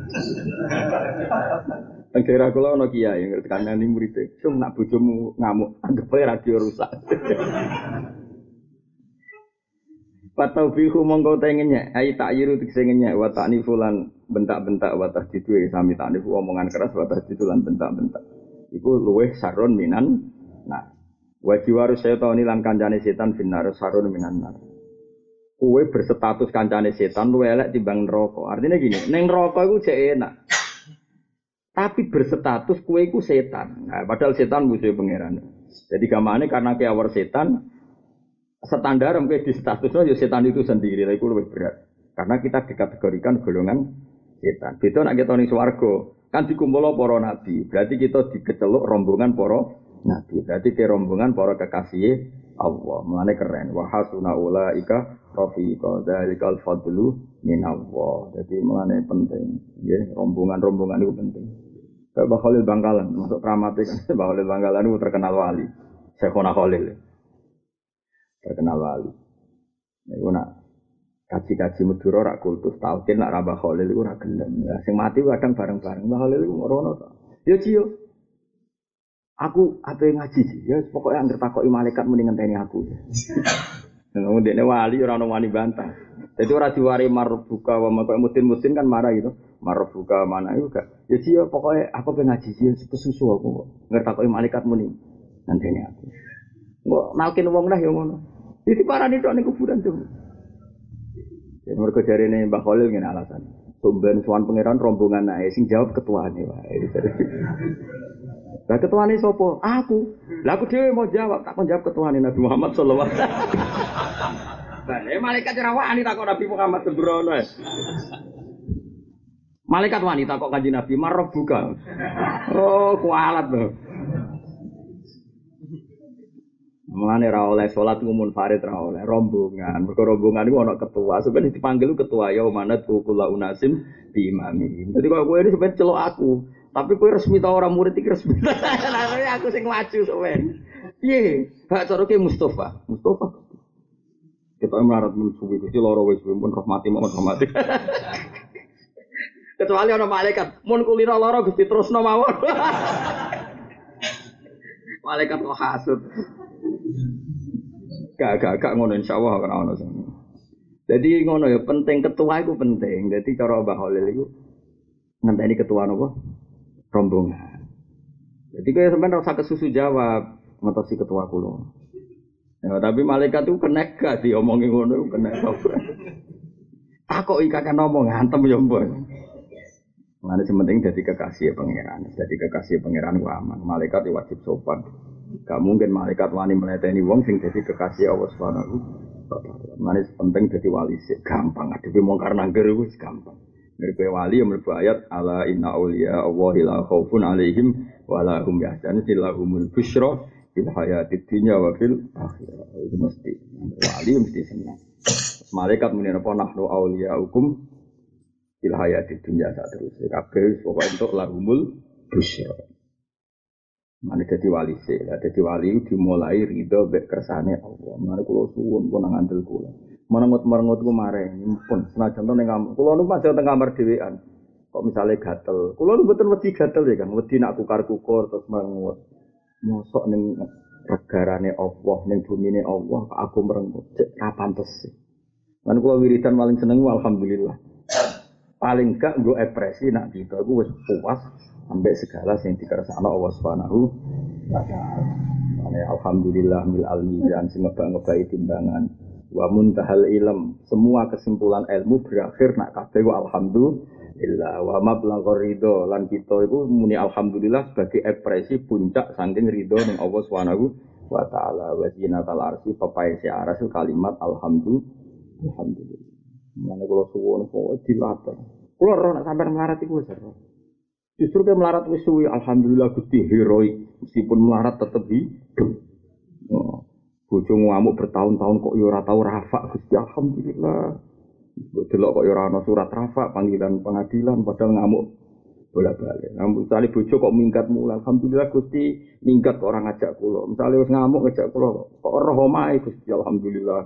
Kira kula ana kiai ngerti kanane murid-e. Sung nak bojomu ngamuk, anggap ae radio rusak. Patau bihu mongko tengennya, ai tak yiru tiksengennya, wa ta'nifu lan bentak-bentak wa tahdidu sami ta'nifu omongan keras wa tahdidu lan bentak-bentak. Iku luweh sarun minan nah. Wa jiwaru setan lan kancane setan binar sarun minan nar. Kowe berstatus kancane setan luwih elek timbang neraka. Artinya gini, ning neraka iku jek enak. Tapi berstatus kowe iku setan. Nah, padahal setan musuh pangeran. Jadi gamane karena kiawar setan standar mungkin di statusnya ya setan itu sendiri, lha iku luwih berat. Karena kita dikategorikan golongan setan. Beda nek kita ning swarga, kan dikumpul para nabi. Berarti kita dikeceluk rombongan para nabi. Berarti ke rombongan para kekasih Allah. Mulane keren. Wa hasuna ulaika rafiqa dzalikal fadlu minallah. Jadi mulane penting. Nggih, rombongan-rombongan itu penting. Kayak Mbah Khalil Bangkalan, masuk kramate kan. Mbah Khalil Bangkalan itu terkenal wali. Syekhona Khalil. Terkenal wali. Niku nak kaji-kaji Madura rak kultus talqin nak Mbah Khalil iku ora gelem. Lah sing mati kadang bareng-bareng Mbah Khalil iku ngono to. Ya Ciyo. Aku ape ngaji sih. Ya pokoke anggere takoki malaikat mending ngenteni aku. Ngomong dekne wali ora ono wani bantah. Jadi ora diwari marbuka wa maka mutin-mutin kan marah gitu. Marbuka mana itu gak. Ya Ciyo pokoke aku pengen ngaji sih kesusu aku kok. Ngertakoki malaikat mending ngenteni aku. Kok nalkin wong lah ya ngono. Iki parani tok ning kuburan tuh. Ya mergo jarene Mbah Khalil ngene alasan. Sumben suwan pangeran rombongan ae sing jawab ketuane wae. Lah ketuane sapa? Aku. Lah aku dhewe mau jawab, tak kon jawab ketuane Nabi Muhammad sallallahu alaihi wasallam. Lah eh malaikat ora wani takok Nabi Muhammad sembrono. Malaikat wanita kok kanjeng Nabi marah buka. Oh, kualat lho. Mulane ra oleh salat umum farid ra oleh rombongan. Mergo rombongan iku ana ketua. Sampeyan dipanggil ketua ya manat kula unasim bi imami. Dadi kok kowe ini sampeyan celok aku. Tapi kowe resmi ta ora murid iki resmi. Lah aku sing maju sampeyan. Piye? Gak cara ke Mustafa. Mustafa. Kita melarat mensuwi Gusti loro wis pun rahmati mohon rahmati. Kecuali ana malaikat, mun kulino loro Gusti terusno mawon. Malaikat kok hasud. Gak gak gak ngono insyaallah ora ono sing. Dadi ngono ya penting ketua iku penting. Dadi cara Mbah Khalil iku ngenteni ketua napa? Rombongan. Jadi kaya sampean ora usah kesusu jawab ngotosi ketua kula. Ya tapi malaikat itu kena gak diomongi ngono iku kena apa. Takoki kakek ngomong ngantem ya mbok. Mane sementing dadi kekasih pangeran. Dadi kekasih pangeran ku aman. Malaikat wajib sopan. Gak mungkin malaikat wani meleteni wong sing dadi kekasih Allah Subhanahu wa taala. Mane penting dadi wali sik gampang. Adewe mungkar nangger wis gampang. Ngerti wali yang mlebu ayat ala inna auliya Allahi la khaufun alaihim wa la hum yahzanun lahumul busyra fil hayatid dunya wa fil akhirah. Itu mesti wali mesti senang. Malaikat muni apa nahnu auliyaukum fil hayatid dunya sak terus. Kabeh pokoke entuk lahumul busyra. Mane dadi wali sik. Lah dadi wali dimulai ridho mek kersane Allah. Mane kula suwun pun nang andel kula. Merengut-merengut ku mareh nyempun senajan to ning kamar. Kula nu pas teng kamar dhewean. Kok misale gatel. Kula nu mboten wedi gatel ya kan, wedi nak kukar-kukur terus merengut. Mosok ning regarane Allah, ning bumine Allah kok aku merengut. Cek ra pantes. Lan kula wiridan paling seneng alhamdulillah. Paling gak nggo ekspresi nak kita iku wis puas ambek segala sing dikersakno Allah Subhanahu wa taala. Mane alhamdulillah mil almizan sing ngebak-ngebai timbangan. Wa muntahal ilm, semua kesimpulan ilmu berakhir nak kabeh wa alhamdulillah wa mablaghur ridho lan kita iku muni alhamdulillah sebagai ekspresi puncak saking ridho ning Allah Subhanahu wa taala. Wa zinatal arsy papai si aras kalimat alhamdulillah. Alhamdulillah. Mane kula suwun kok dilatih. Kula ora nak sampean melarat iku wis ora. Justru ke melarat wis suwi alhamdulillah Gusti heroik meskipun melarat tetep hidup. Oh. Bojo ngamuk bertahun-tahun kok ya ora tau rafa Gusti alhamdulillah. Delok kok ya ora ana surat rafa panggilan pengadilan padahal ngamuk bolak-balik. Ngamuk misale bojo kok minggat mula alhamdulillah Gusti minggat kok ora ngajak kula. Misale wis ngamuk ngajak kula kok ora omahe Gusti alhamdulillah.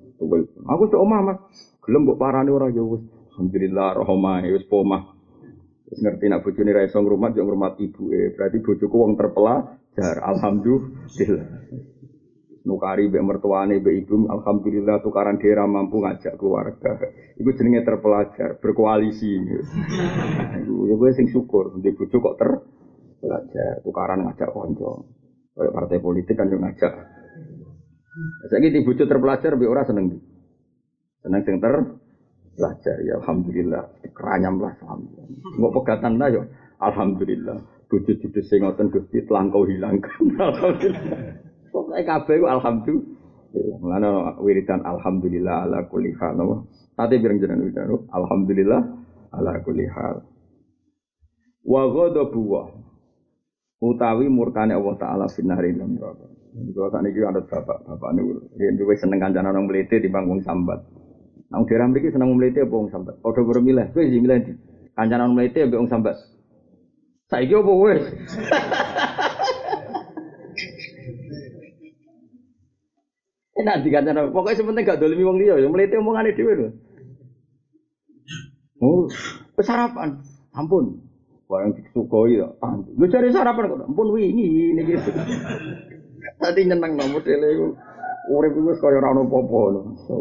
Aku sik omah Mas. Gelem mbok parani ora ya wis alhamdulillah roh omahe wis pomah. Wis ngerti nek bojone ra iso ngrumat yo ngrumat ibuke. Berarti bojoku wong terpelajar alhamdulillah. Nukari mbek mertuane mbek ibu alhamdulillah tukaran daerah mampu ngajak keluarga. Iku jenenge terpelajar, berkoalisi. Iku ya kowe sing syukur, ndek bojo kok terpelajar, tukaran ngajak kanca. Kayak partai politik kan yo ngajak. Saiki di bojo terpelajar mbek ora seneng. Seneng sing terpelajar ya alhamdulillah, keranyam lah alhamdulillah. Mbok pegatan ta yo alhamdulillah. Bojo judes sing ngoten Gusti telangkau hilangkan. Alhamdulillah. Pokoke kabeh ku alhamdulillah. Mulane wiridan alhamdulillah ala kulli hal. Ate pirang jenengan wiridan alhamdulillah ala kulli hal. Wa ghadabu utawi murkane Allah taala finari lan neraka. Jadi sakniki ada bapak-bapak niku yen duwe seneng kancane nang mlete timbang wong sambat. Nang daerah mriki seneng mlete apa wong sambat? Padha karo milih, kowe sing milih ndi? Kancane nang mlete ambek wong sambat. Saiki opo wis? Enak dikancana. Pokoknya sepenting gak dolimi wong liya, ya mlete omongane dhewe lho. Oh, sarapan. Ampun. Barang disukoi ya. Lu cari sarapan kok. Ampun wingi ini gitu. Tadi nyeneng no modele iku. Urip iku kaya ora ono apa-apa lho.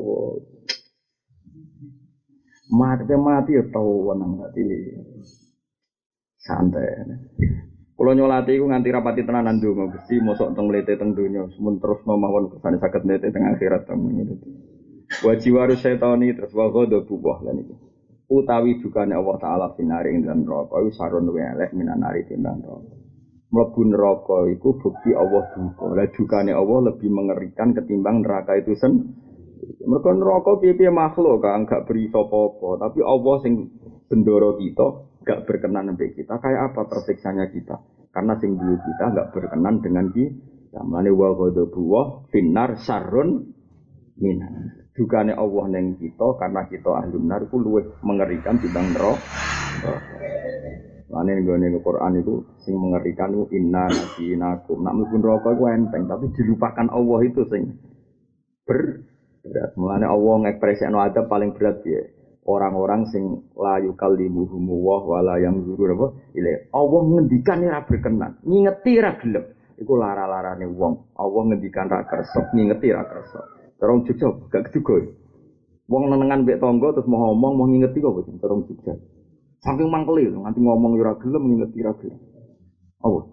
Mati mati ya tau wenang gak dili. Santai. Kula nyolati iku nganti rapati tenanan donga Gusti mosok teng mlete teng donya mun terus mawon kesane saged mlete teng akhirat temen itu. Wa jiwaru setani terus wa ghadha buah lan iki. Utawi dukane Allah taala finari ing dalam neraka iku sarun luwih elek minanari timbang neraka. Mlebu neraka iku bukti Allah duka. Lah dukane Allah lebih mengerikan ketimbang neraka itu sen. Mergo neraka piye-piye makhluk kan gak beri sapa-apa, tapi Allah sing bendoro kita gak berkenan sampai kita. Kayak apa tersiksanya kita? Karena sing duwe kita gak berkenan dengan kita. Mulane wa ghadabu wa finnar sarrun minan. Dukane Allah ning kita karena kita ahli nar iku luwih mengerikan timbang neraka. Mulane nggone Al-Qur'an iku sing mengerikan iku inna nasinakum. Nak mlebu neraka iku enteng, tapi dilupakan Allah itu sing ber berat. Mulane Allah ngekspresikno adab paling berat ya. Orang-orang sing la yukallimuhum wa wala yang zuru apa ile Allah ngendikan ora berkenan ngingeti ra gelem iku lara-larane wong Allah ngendikan ra kersa ngingeti ra kersa terus jujur gak juga wong nenengan mbek tangga terus mau ngomong mau ngingeti kok terus jujur saking mangkeli nganti ngomong ora gelem ngingeti ra gelem apa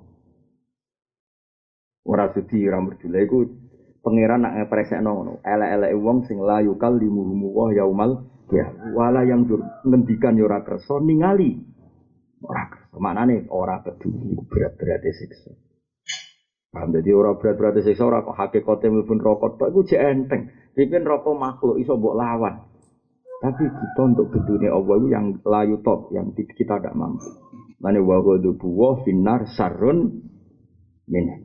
ora sudi ra merjule iku pangeran nak ngepresekno ngono elek-eleke wong sing la yukallimuhum wa yaumal ya, wala yang dur ngendikan yo ora kersa ningali. Ora kersa. Maknane ora peduli berat-berat siksa. Paham dadi ora berat-berat siksa ora kok hakikate mlebu neraka tok iku jek enteng. Pipen neraka makhluk iso mbok lawan. Tapi kita untuk gedune Allah itu yang layu top, yang kita tidak mampu. Mane wa ghadabu wa finnar sarrun min.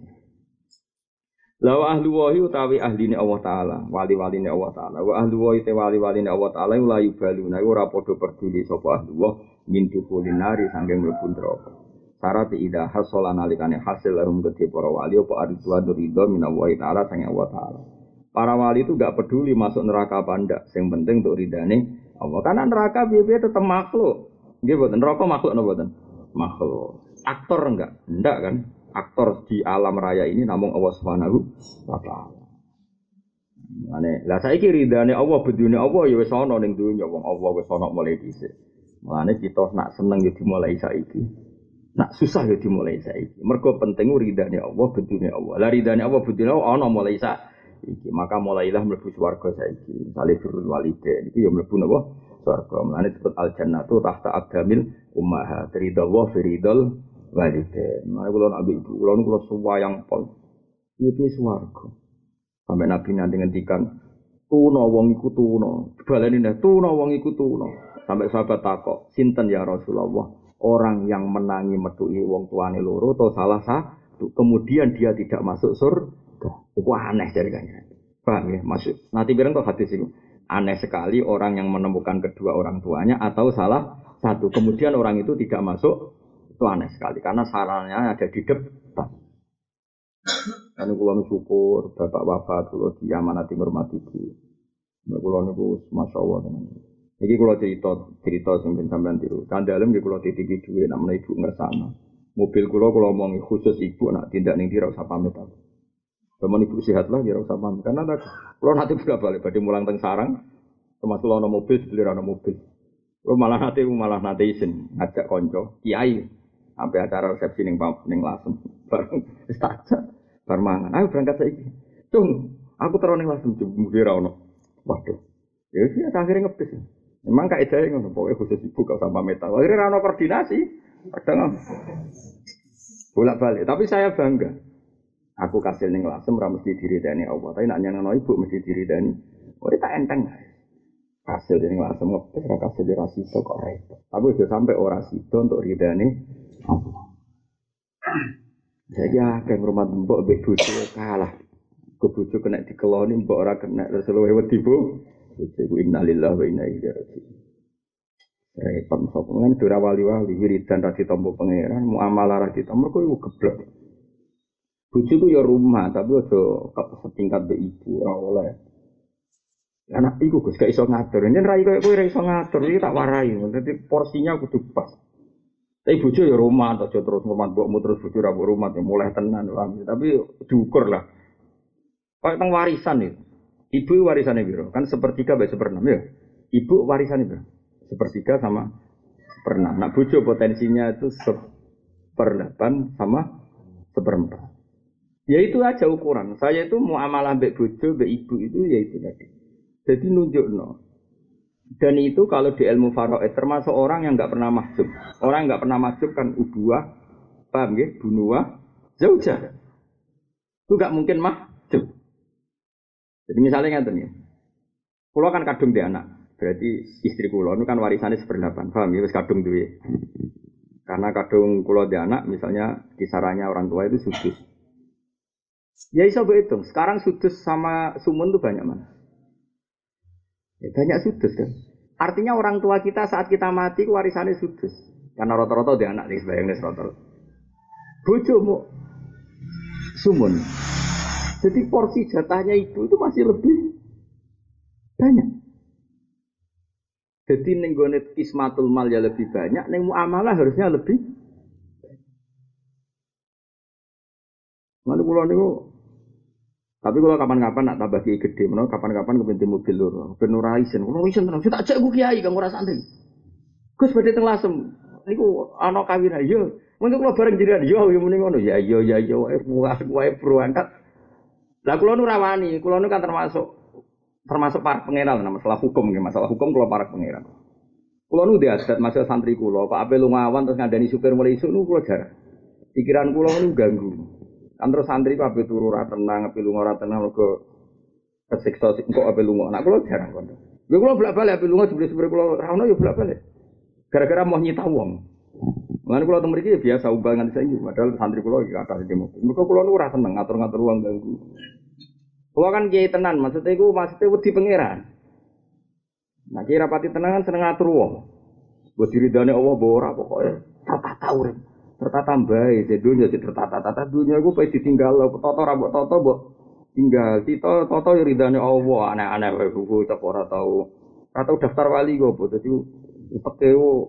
Lawa ahli wahi utawi ahline Allah Ta'ala wali-waline Allah Ta'ala wa ahli wahi te wali-waline Allah Ta'ala la yubaluna ora padha peduli sapa ahli wah min dukulinari sanging mlebu neraka syarat ida hasala nalikane hasil lahum gede para wali apa aridwan ridho min Allah Ta'ala sanging Allah Ta'ala para wali itu gak peduli masuk neraka apa ndak sing penting untuk ridane Allah karena neraka piye-piye tetep makhluk nggih mboten neraka makhluk napa mboten makhluk aktor enggak ndak kan aktor di alam raya ini namung Allah Subhanahu wa taala. Mane, lah saiki ridane Allah bedune Allah ya wis ana ning dunya wong Allah wis ana mulai dhisik. Mane kita nak seneng ya dimulai saiki. Nak susah ya dimulai saiki. Mergo penting ridane Allah bedune Allah. Lah ridane Allah bedune Allah ana mulai saiki. Maka mulailah mlebu swarga saiki. Misale birrul walidain iki ya mlebu napa? Swarga. Mane disebut al jannatu tahta aqdamil ummahat. Ridha wa firidal walide, mari kula nak ibu, kula niku kula suwayang pol. Iki swarga. Sampai Nabi nanti ngendikan, tuna wong iku tuna. Baleni neh tuna wong iku tuna. Sampai sahabat takok, sinten ya Rasulullah? Orang yang menangi metuki wong tuane loro atau salah satu, kemudian dia tidak masuk surga. Iku aneh dari kanjeng. Paham ya? Maksud nanti bilang kok hadis itu. Aneh sekali orang yang menemukan kedua orang tuanya atau salah satu, kemudian orang itu tidak masuk. Itu aneh sekali karena sarannya ada di depan. Karena kula syukur bapak wafat kula diamanati hormati ibu. Kula niku masyaallah tenan. Iki kula cerita cerita sing ben sampean tiru. Kandhalem nggih kula titipi dhuwit nek menawa ibu ngersakno. Mobil kula kula omongi khusus ibu nak tindak ning ndi ora usah pamit aku. Sampeyan ibu sehat lah ya ora usah pamit. Karena kula nanti juga balik badhe mulang teng sarang. Termasuk ana mobil sebeli ana mobil. Kula malah nanti malah nanti isin ngajak kanca kiai. Sampai acara resepsi ning ning Lasem bareng wis takjak bar mangan ayo berangkat saiki cung aku terus ning Lasem jemur ra ono waduh ya wis akhire ngepis memang kaedahe ngono pokoke khusus ibu gak usah pamit akhire ra ono koordinasi kadang bolak-balik tapi saya bangga aku kasil ning Lasem ra mesti diridani Allah tapi nek nyenengno ibu mesti diridani ora tak enteng hasil ning Lasem ngepis ra kasil ra sido kok repot tapi aja sampai ora sido untuk ridani Allah. Jadi akeh ngrumat mbok mbek bojo kalah. Ke bojo kena dikeloni mbok ora kena terus luwe wedi bu. Iku innalillahi wa inna ilaihi raji'un. Repot sokongan dora wali-wali wiridan ra ditampa pangeran, muamalah ra ditampa kok iku geblek. Bojoku ya rumah, tapi aja setingkat mbek ibu ora oleh. Anak iku Gus gak iso ngatur. Yen rai koyo kowe ora iso ngatur iki tak warai. Dadi porsinya kudu pas. Tapi bojo ya rumah aja terus ngurmat mbokmu terus bojo ra mbok rumah ya mulai tenan paham. Tapi diukur lah. Kayak teng warisan itu. Ibu warisannya piro? Kan sepertiga mbek seperenam ya. Ibu warisannya piro? Sepertiga sama seperenam. Nah bojo potensinya itu seperdelapan sama seperempat. Ya itu aja ukuran. Saya itu muamalah mbek bojo, mbek ibu itu ya itu tadi. Jadi nunjukno. Dan itu kalau di ilmu faraid termasuk orang yang enggak pernah mahjub. Orang enggak pernah mahjub kan ubuah, paham nggih? Bunuah, zaujah. Itu enggak mungkin mahjub. Jadi misalnya ngaten ya. Kula kan kadung di anak. Berarti istri kula itu kan warisannya seperdelapan. Paham ya wis kadung duwe. Karena kadung kula di anak misalnya kisarannya orang tua itu sudus. Ya iso hitung. Sekarang sudus sama sumun itu banyak mana? Ya, banyak sudus kan. Artinya orang tua kita saat kita mati warisannya sudus. Karena rata-rata di anak nih sebayangnya rata-rata. Bojomu sumun. Jadi porsi jatahnya ibu itu masih lebih banyak. Jadi nenggonet kismatul mal ya lebih banyak, neng muamalah harusnya lebih. Mana pulau niku? Tapi kalau kapan-kapan nak tambah kiai gede, mana kapan-kapan kepenting mobil lur, penuraisen, penuraisen tenang. Saya tak cek gue kiai, kamu rasa santri. Gus badhe teng Lasem. Niku ana kawin ayo. Mungkin kalau bareng jiran, yo yo muni ngono. Ya yo ya yo wae wae berangkat. Lah kula nu rawani, kula nu kan termasuk termasuk para pangeran nah, masalah hukum nggih, masalah hukum kula para pangeran. Kula nu diadat masalah santri kula, Pak Ape lungawan terus ngandani supir mulai isuk nu kula jarang. Pikiran kula nu ganggu. Kan terus santri ku ape turu ora tenang, ape lunga ora tenang mergo kesiksa engko ape lunga. Nak kula jarang kono. Lha kula bolak-balik ape lunga jebule supir kula ra ono ya bolak-balik. Gara-gara mau nyita wong. Mulane kula teng mriki biasa umbal nganti saiki, padahal santri kula iki kathah di mobil. Mergo kula nu ora seneng ngatur-ngatur wong ganggu. Kula kan kiai tenan, maksudnya iku maksudnya wedi pangeran. Nah, kiai rapati tenan kan seneng ngatur wong. Mbok diridane Allah mbok ora pokoke tata urip. Tertata mbae, dunya tertata-tata dunya iku pe ditinggal toto ra mbok toto mbok tinggal. Tito toto yo ridane Allah, aneh-aneh wae buku tak ora tau. Ora tau daftar wali kok, dadi upeke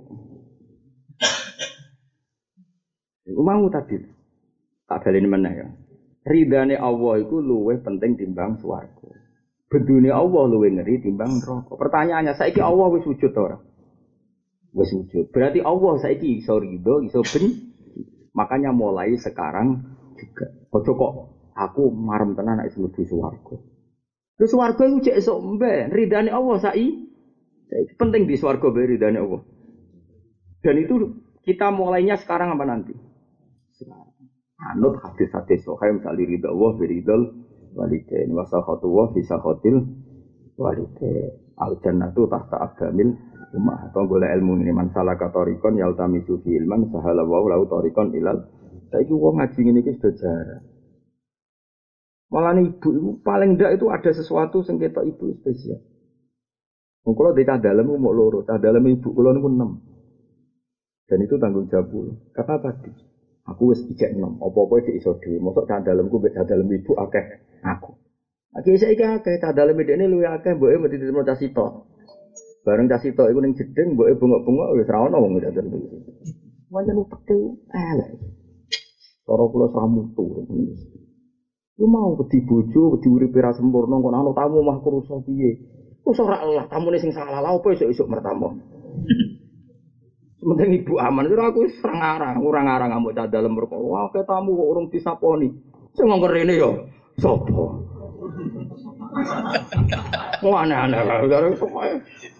iku mau tadi. Tak baleni meneh ya. Ridane Allah iku luwih penting timbang swarga. Bedune Allah luwih ngeri timbang neraka. Pertanyaannya, saiki Allah wis wujud ta ora? Wis wujud. Berarti Allah saiki iso ridho, iso benci. Makanya mulai sekarang juga. Ojo kok aku marem tenan nek mlebu swarga. Terus swarga iku cek esuk mben, ridane Allah saiki. Saiki penting di swarga be ridane Allah. Dan itu kita mulainya sekarang apa nanti? Sekarang. Anut hadis-hadis sahih misal ridha Allah bi ridal walidain wa sakhatu wa fi sakhatil walidain. Al jannatu tahta aqdamil ummah. Atau golek ilmu ini man salaka tariqan yaltamisu fi ilman sahala wa lahu tariqan ilal. Saiki wong ngaji ngene iki sudah jarang. Malah ibu ibu paling ndak itu ada sesuatu sing ketok ibu spesial. Wong kula dhewe dalem mau loro, cah dalem ibu kula niku enam. Dan itu tanggung jawab kula. Kata tadi, aku wis ijek enam, apa-apa iki iso dhewe. Mosok cah dalemku mbek cah dalem ibu akeh aku. Aki saiki akeh cah dalem dekne luwih akeh mboke mesti diterima cah sitok. Bareng cah sitok iku ning jedeng mboke bengok-bengok wis ra ono wong cah dalem iku. Wancen upete elek. Cara kula samutu. Lu mau wedi bojo, wedi uripe ra sempurna kok ana tamu mah kurusa piye? Wis ora lah tamune sing salah lha opo esuk-esuk mertamu. Sementing ibu aman kira aku wis ora ngarang, ora ngarang ambek cah dalem perkara. Wah, ke tamu kok urung disaponi. Sing ngongkon rene yo sapa? Wah, aneh-aneh karo pokoke.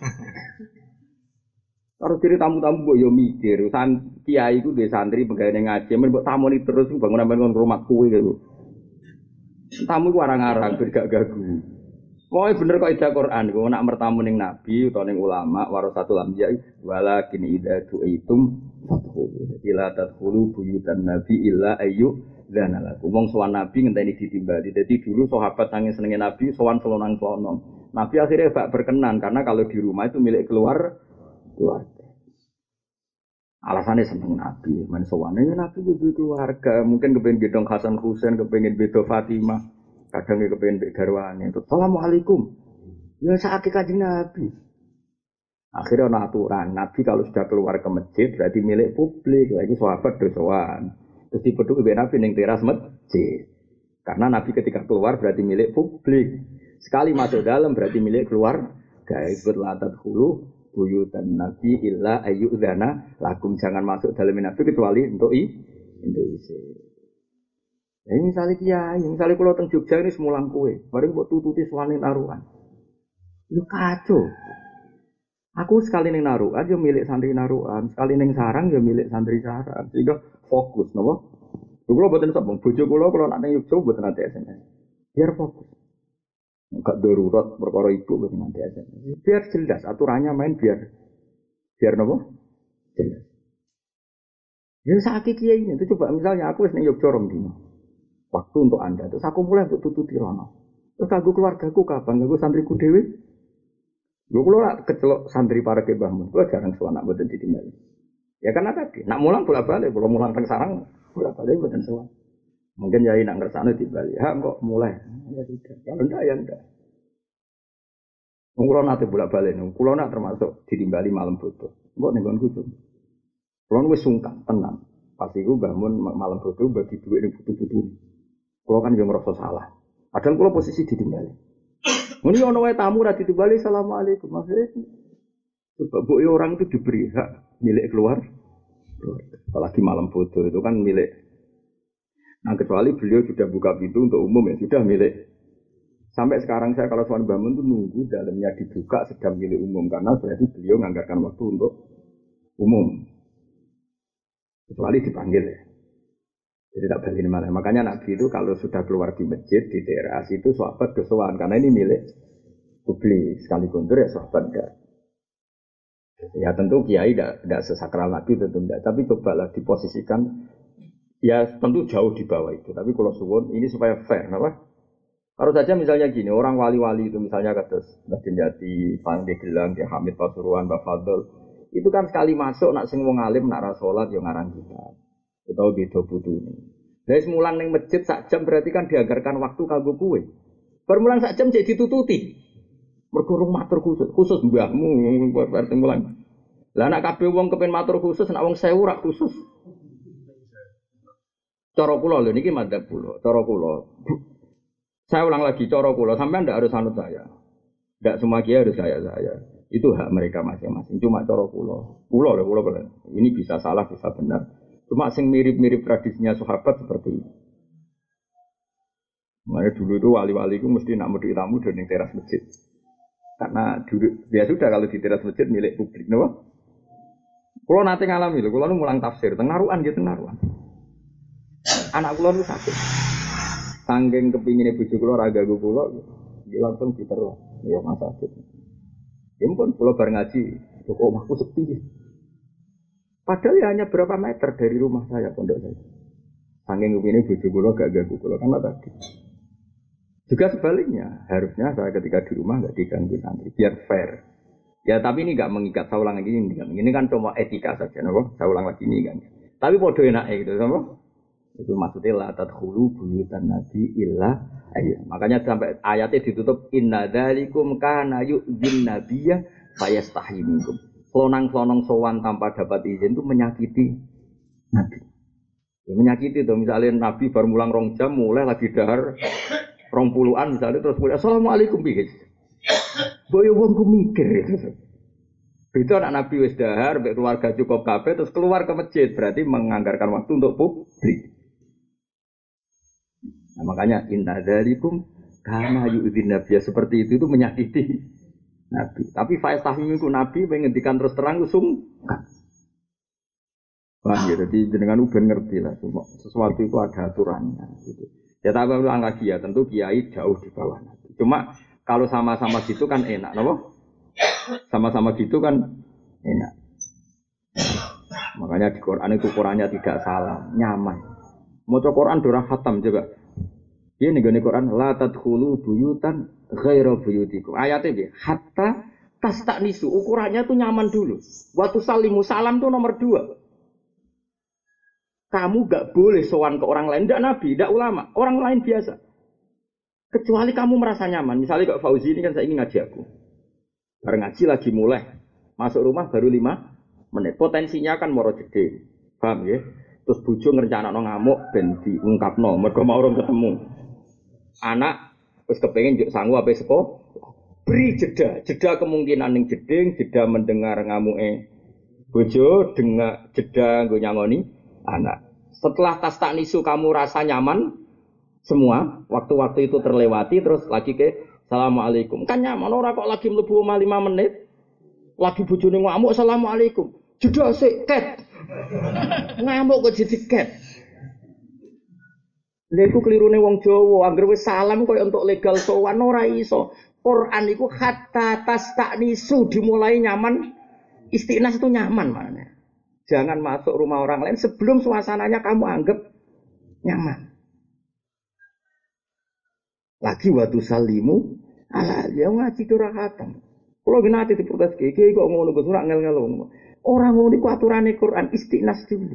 Karo diri tamu-tamu kok yo mikir, san kiai iku duwe santri pegawai ngaji, men mbok tamoni terus bangunan-bangunan rumah kuwe gitu. Tamu ku arang-arang ben gak gagu. Pokoke bener kok ida Quran ku nek mertamu ning nabi utawa ning ulama warasatul anbiya walakin idza tu'itum fadkhulu. Dadi la tadkhulu buyutan nabi illa ayyu dzana lakum. Wong sowan nabi ngenteni ditimbali. Dadi dulu sahabat sange senenge nabi sowan selonang-selonong. Nabi akhirnya gak berkenan karena kalau di rumah itu milik keluar keluarga. Alasannya seneng Nabi, men sowane Nabi itu keluarga, mungkin kepengen gedong Hasan Husain, kepengen bedo Fatimah, kadang kepengen bek garwane. Assalamualaikum. Ya sakit kanjeng Nabi. Akhirnya ana aturan, Nabi kalau sudah keluar ke masjid berarti milik publik, lagi sahabat dosoan. Terus dipeduk ibu Nabi ning teras masjid. Karena Nabi ketika keluar berarti milik publik. Sekali masuk dalam berarti milik keluar. Gak ikut latat hulu buyutan Nabi illa ayyudzana lakum, jangan masuk dalam Nabi kecuali untuk i untuk isi. Ya misalnya kiai, misalnya kalau teng Jogja ini semulang kue, bareng buat tututi suanin naruhan. Lu kacau. Aku sekali neng naruhan yo milik santri naruhan, sekali neng sarang yo milik santri sarang. Sehingga fokus, nopo. Kalau buatan sabung, bojo kalau kalau nak neng Jogja buatan nanti S M S. Biar fokus. Enggak darurat perkara ibu buat nanti aja. Biar jelas aturannya main biar biar nopo jelas. Ya saat kiai ini itu coba misalnya aku wis ning Yogyakarta rong dino. Waktu untuk Anda terus aku mulai untuk tututi rono. Terus kanggo keluargaku kapan? Kanggo santriku dhewe. Lho kula ora kecelok santri para ke Mbahmun. Kula jarang suwana mboten ditimbali. Ya karena tadi nak mulang bolak-balik, kula mulang teng sarang bolak-balik mboten suwana. Mungkin yai nak ngersane dibalik. Ha kok mulai. Ya tidak. Kalau ndak ya ndak. Wong kula nate bolak-balik, kula nak termasuk ditimbali malam bodoh. Mbok ning nggonku cung. Kula wis sungkan tenan. Pas iku bangun malam bodoh bagi dhuwit ning putu-putu. Kula kan yo ngrasa salah. Padahal kula posisi ditimbali. Muni ono wae tamu ra ditimbali assalamualaikum. Maksudnya sebab orang itu diberi hak milik keluar. Apalagi malam bodoh itu kan milik. Nah kecuali beliau sudah buka pintu untuk umum ya sudah milik. Sampai sekarang saya kalau soal bangun itu nunggu dalamnya dibuka sedang milik umum karena berarti beliau menganggarkan waktu untuk umum. Kecuali dipanggil ya. Jadi tak balik malah. Makanya Nabi itu kalau sudah keluar di masjid di teras itu sahabat kesuwan karena ini milik publik sekali kuntur ya sahabat enggak. Ya tentu kiai tidak tidak sesakral Nabi tentu tidak. Tapi cobalah diposisikan. Ya tentu jauh di bawah itu, tapi kalau suwun ini supaya fair, apa? Harus saja misalnya gini, orang wali-wali itu misalnya kata Mbah Dinjati, Pak Gelang, Ki Hamid Pasuruan, Mbah Fadl, itu kan sekali masuk nak sing wong alim nak ra salat yo ngarang kita. Utawa beda putune. Lah semulang ning masjid sak jam berarti kan dianggarkan waktu kanggo kowe. Permulang sak jam jadi ditututi. Mergo rung matur khusus, khusus mbahmu berarti mulang. Lah nak kabeh wong kepen matur khusus, nak wong sewu ra khusus. Cara kula lho niki madzhab kula, cara kula. Saya ulang lagi cara kula, sampean ndak harus anut saya. Ndak semua kiai harus saya saya. Itu hak mereka masing-masing. Cuma cara kula. Kula lho kula kula. Ini bisa salah, bisa benar. Cuma sing mirip-mirip tradisinya sahabat seperti ini. Makanya dulu itu wali-wali itu mesti nak medhik tamu di teras masjid. Karena dulu ya sudah kalau di teras masjid milik publik, napa? Kula nate ngalami lho, kula nu mulang tafsir teng narukan nggih teng narukan. Anak kula nu sakit. Saking kepingine bojo kula ra ganggu kula, dia langsung diterus. Ya mas sakit. Ya pun kula bar ngaji, kok omahku sepi. Padahal ya hanya berapa meter dari rumah saya pondok saya. Saking kepingine bojo kula gak ganggu kula karena tadi. Juga sebaliknya, harusnya saya ketika di rumah enggak diganggu santri, biar fair. Ya tapi ini enggak mengikat, saya ulang lagi ini. Ini kan cuma etika saja, napa? Saya ulang lagi ini kan. Tapi podo enake gitu, sama? Itu maksudnya la tadkhulu buyutan nabi illa ayya. Makanya sampai ayatnya ditutup inna dzalikum kana yu'dhin nabiyya fayastahi minkum. Selonang-selonong sowan tanpa dapat izin itu menyakiti nabi. Ya, menyakiti itu misalnya nabi baru mulang rong jam mulai lagi dahar rong puluhan misalnya terus mulai assalamualaikum bihi. Boyo wong ku mikir itu. Itu anak nabi wis dahar, keluarga cukup kabeh terus keluar ke masjid berarti menganggarkan waktu untuk publik. Nah, makanya inna dzalikum kana yu'dhin nabiyya seperti itu itu menyakiti nabi. Tapi faistahmiku nabi menghentikan terus terang usung. Wah, ya, jadi jenengan uben ngerti lah semua sesuatu itu ada aturannya gitu. Ya tapi ulang lagi ya, tentu kiai jauh di bawah nabi. Cuma kalau sama-sama gitu kan enak, napa? Sama-sama gitu kan enak. Makanya di Quran itu Qurannya tidak salah, nyaman. Maca Quran durah khatam juga. Ini nih Quran la tadkhulu buyutan ghaira buyutikum. Ayatnya dia hatta tastaknisu, ukurannya tuh nyaman dulu. Waktu salimu salam tuh nomor dua. kamu gak boleh sowan ke orang lain, tidak nabi, tidak ulama, orang lain biasa. Kecuali kamu merasa nyaman. Misalnya Kak Fauzi ini kan saya ingin ngaji aku. Bareng ngaji lagi mulai, masuk rumah baru lima menit. Potensinya kan moro jeding. Paham ya? Terus bojo ngrencanakno ngamuk ben diungkapno, mergo mau urung ketemu. Anak wis kepengin njuk sangu ape seko. Beri jeda, jeda kemungkinan ning jeding, jeda mendengar ngamuke bojo, dengar jeda nggo nyangoni anak. Setelah tas tak nisu kamu rasa nyaman semua, waktu-waktu itu terlewati terus lagi ke Assalamualaikum. Kan nyaman ora kok lagi mlebu omah lima menit. Lagi bojone ngamuk Assalamualaikum. Jeda sik ket. Ngamuk kok jadi ket. Lha iku kelirune wong Jawa, anggere wis salam koyo entuk legal sowan ora iso. Quran iku hatta tastanisu dimulai nyaman. Istinas itu nyaman maknanya. Jangan masuk rumah orang lain sebelum suasananya kamu anggap nyaman. Lagi waktu salimu ala ya ngaji durahatan. Kalau gini nanti diprotes kiai kok ngono Gus ora ngel-ngel ngono. Ora ngono iku aturane Quran istinas dulu.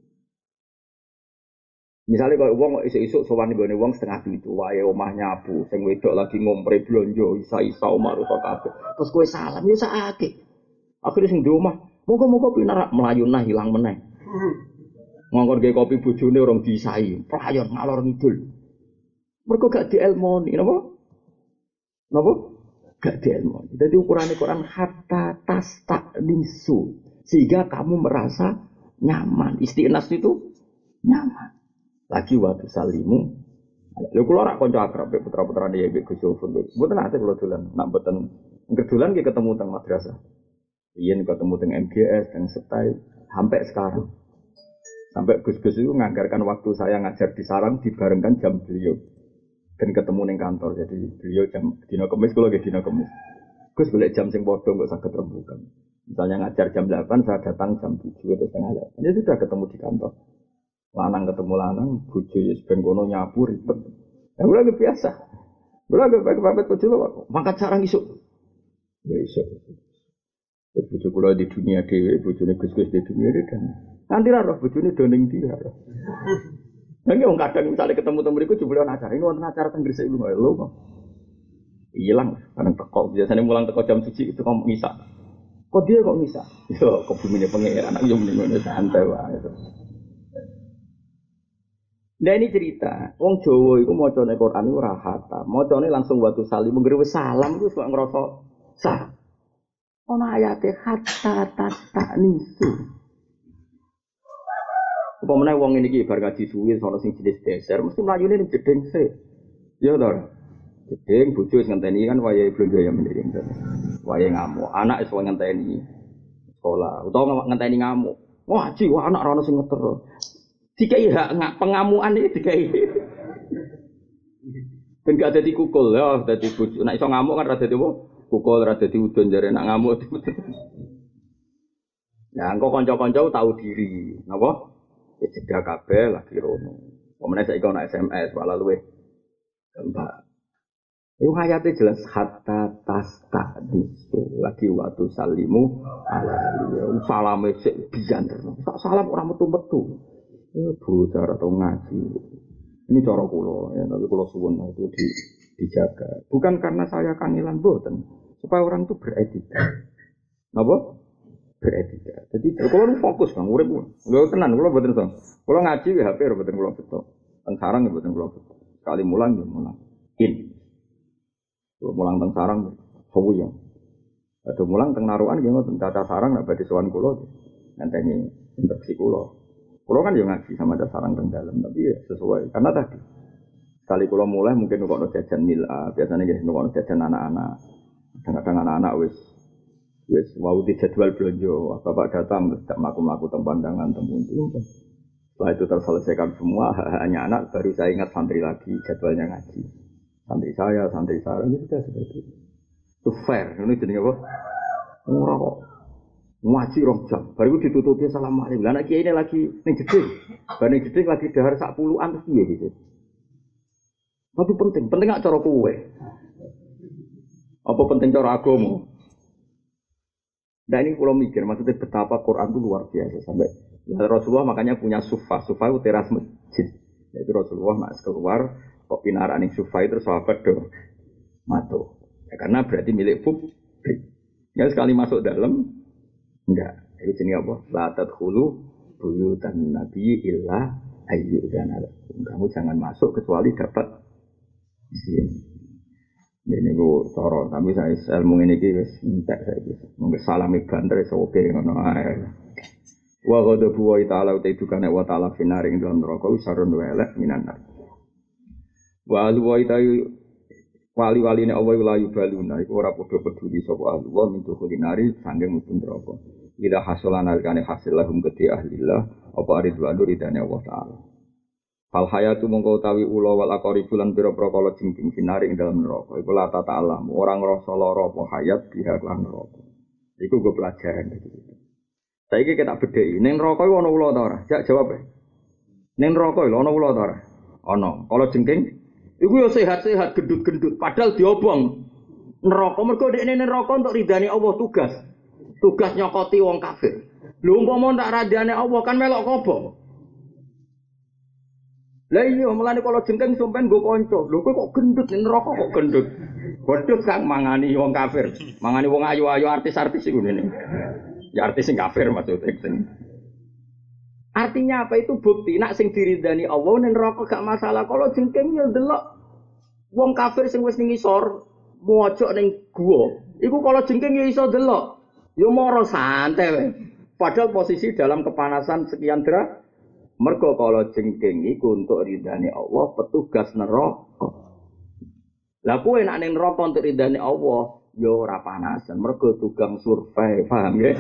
Misalnya kalau wong isuk-isuk sowan nggone wong setengah pitu, wae omah nyapu, sing wedok lagi ngompre blonjo, isa-isa omah rusak kabeh. Terus kowe salam ya sakake. Akhire sing di omah, moga-moga pinarak melayu nah hilang meneh. Ngongkon ge kopi bojone urung disai, playon ngalor ngidul. Mergo gak dielmoni, napa? Napa? Gak dielmoni. Dadi ukurane Quran hatta tastanisu, sehingga kamu merasa nyaman. Istinas itu nyaman. Lagi waktu salimu, lha kula ora kanca akrab putra-putrane ya Gus Yofun. Mboten ate kula dolan, nak mboten kedolan ki ketemu teng madrasah. Yen ketemu teng M G S, teng Setai, sampai sekarang. Sampai Gus-gus itu nganggarkan waktu saya ngajar di sarang dibarengkan jam beliau. Dan ketemu ning kantor. Jadi beliau jam dina Kamis kula nggih dina Kamis. Gus golek jam sing padha kok saged rembugan. Misalnya ngajar jam delapan, saya datang jam tujuh atau setengah delapan. Ya sudah ketemu di kantor. Lanang ketemu lanang, bojo ya ben kono nyapu ribet. Ya ora biasa. Ora pamit bojo kok mangkat sarang isuk. Ya isuk. Ya bojo kula di dunia dhewe, bojone Gus-gus di dunia dhewe kan. Nanti ra roh bojone doning dia. Lah wong kadang misale ketemu temu mriku jebule ana acara, ini wonten acara teng Gresik lho lho kok. Ilang, kadang teko biasane mulang teko jam tujuh itu kok ngisak. Kok dia kok ngisak? Yo kok bumine pengen anak yo mending ngono santai wae. Nah ini cerita, wong Jawa iku macane Quran iku ora hatam. Macane langsung watu salim, menggere wis salam iku kok ngrasa sah. Ono ayate hatta tastanisu. Apa meneh wong ini iki bar ngaji suwi sono sing jenis deser, mesti mlayune ning jeding sik. Ya to. Jeding bojo wis ngenteni kan wayahe blonjo ya mending. Wayahe ngamuk, anak wis ngenteni sekolah, utawa ngenteni ngamuk. Wah, ngaji wah anak ora ono sing ngeter. Dikai hak pengamuan iki dikai. Ben gak dadi kukul ya, dadi bojo. Nek iso ngamuk kan ra dadi apa? Kukul ra dadi udon jare nek ngamuk. Nah, engko kanca-kanca tahu diri, napa? Wis cedhak kabeh lagi rono. Pemene saiki ana S M S malah luweh gampang. Iku ayate jelas hatta tastadisu lagi waktu salimu ala salame sik biyen terus. Salam ora metu-metu. Eh bocah atau ngaji. Ini cara kula ya, tapi kula suwun itu di, dijaga. Bukan karena saya kangelan mboten, supaya orang itu beretika. Napa? Beretika. Jadi kula fokus Bang, urip lho tenan kula mboten iso. Kula ngaji W H P mboten kula beto. Teng sarang mboten kula beto. Sekali mulang ya mulang. In. Kula mulang teng sarang suwu ya. Ada mulang teng narukan nggih ngoten caca sarang nek badhe sowan kula ngenteni instruksi kula. Kulo kan yo ngaji sama ada sarang teng dalem, tapi ya sesuai karena tadi sekali kulo mulai mungkin nukono jajan mila, biasanya jadi nukono jajan anak-anak. Kadang-kadang anak-anak wis wis wau di jadwal belanja, bapak datang terus tak mlaku-mlaku teng pandangan temu itu. Setelah itu terselesaikan semua, hanya anak baru saya ingat santri lagi jadwalnya ngaji. Santri saya, santri saya itu sudah seperti itu. Itu fair, ini jenenge apa? Ora kok ngaji rong jam, baru ditutupi assalamualaikum. Lah nek kiai ini lagi ning jeding, bar ning jeding lagi dahar sak puluhan terus piye gitu. Tapi penting, penting gak cara kowe. Apa penting cara agama? Nah ini kalau mikir, maksudnya betapa Quran itu luar biasa sampai Nah, Rasulullah makanya punya sufa, sufa itu teras masjid. Itu Rasulullah nak keluar kok pinarak ning sufa itu sahabat do mato. Ya, karena berarti milik publik. Ya sekali masuk dalam enggak. Itu jenis apa? La tadkhulu buyutan nabi illa ayyudzana lakum. Kamu jangan masuk kecuali dapat izin. Ini gue coro, tapi saya ilmu ini guys, entek saya guys. Mungkin salami banter oke ngono ae. Wa ghadabu wa ta'ala uta idukane wa ta'ala finari ing dalam neraka wisarun wa elek minan nar. Wa alu wa itayu wali-waline Allah la yubaluna iku ora padha peduli sapa ahli wa min dukhulin sanging mubun neraka. Ila hasolan alkane hasil lahum gede ahlillah apa ridwanu ridane Allah taala. Fal hayatu mongko utawi ula wal aqribulan pira-pira kala jingking finari ing dalam neraka. Iku la ta alam ora ngrasa lara apa hayat biha lan neraka. Iku go pelajaran gitu. Saiki kita bedheki, ning neraka iku ana ula ta ora? Jak jawab e. Ning neraka lho ana ula ta ora? Ana. Kala jengking iku yo sehat-sehat gendut-gendut padahal diobong. Neraka mergo dekne neraka untuk ridane Allah tugas. Tugas nyokoti wong kafir. Lho umpama tak radane Allah kan melok kobo. Lah iya mulane kala jengking sampean nggo kanca. Lho kowe kok gendut ning neraka kok gendut. Gendut kang mangani wong kafir. Mangani wong ayu-ayu artis-artis iku ngene. Ya artis sing kafir maksudnya sing. Artinya apa itu bukti nak sing diridani Allah ning neraka gak masalah. Kalau jengking yo delok wong kafir sing wis ning isor mojok ning gua. Iku kalau jengking yo iso delok. Yo moro santai wae. Padahal posisi dalam kepanasan sekian derajat. Mergo kalau jengking iku untuk ridani Allah petugas neraka. Lah kowe nak ning neraka untuk ridani Allah yo ora panasan, mergo tukang survei, paham ya?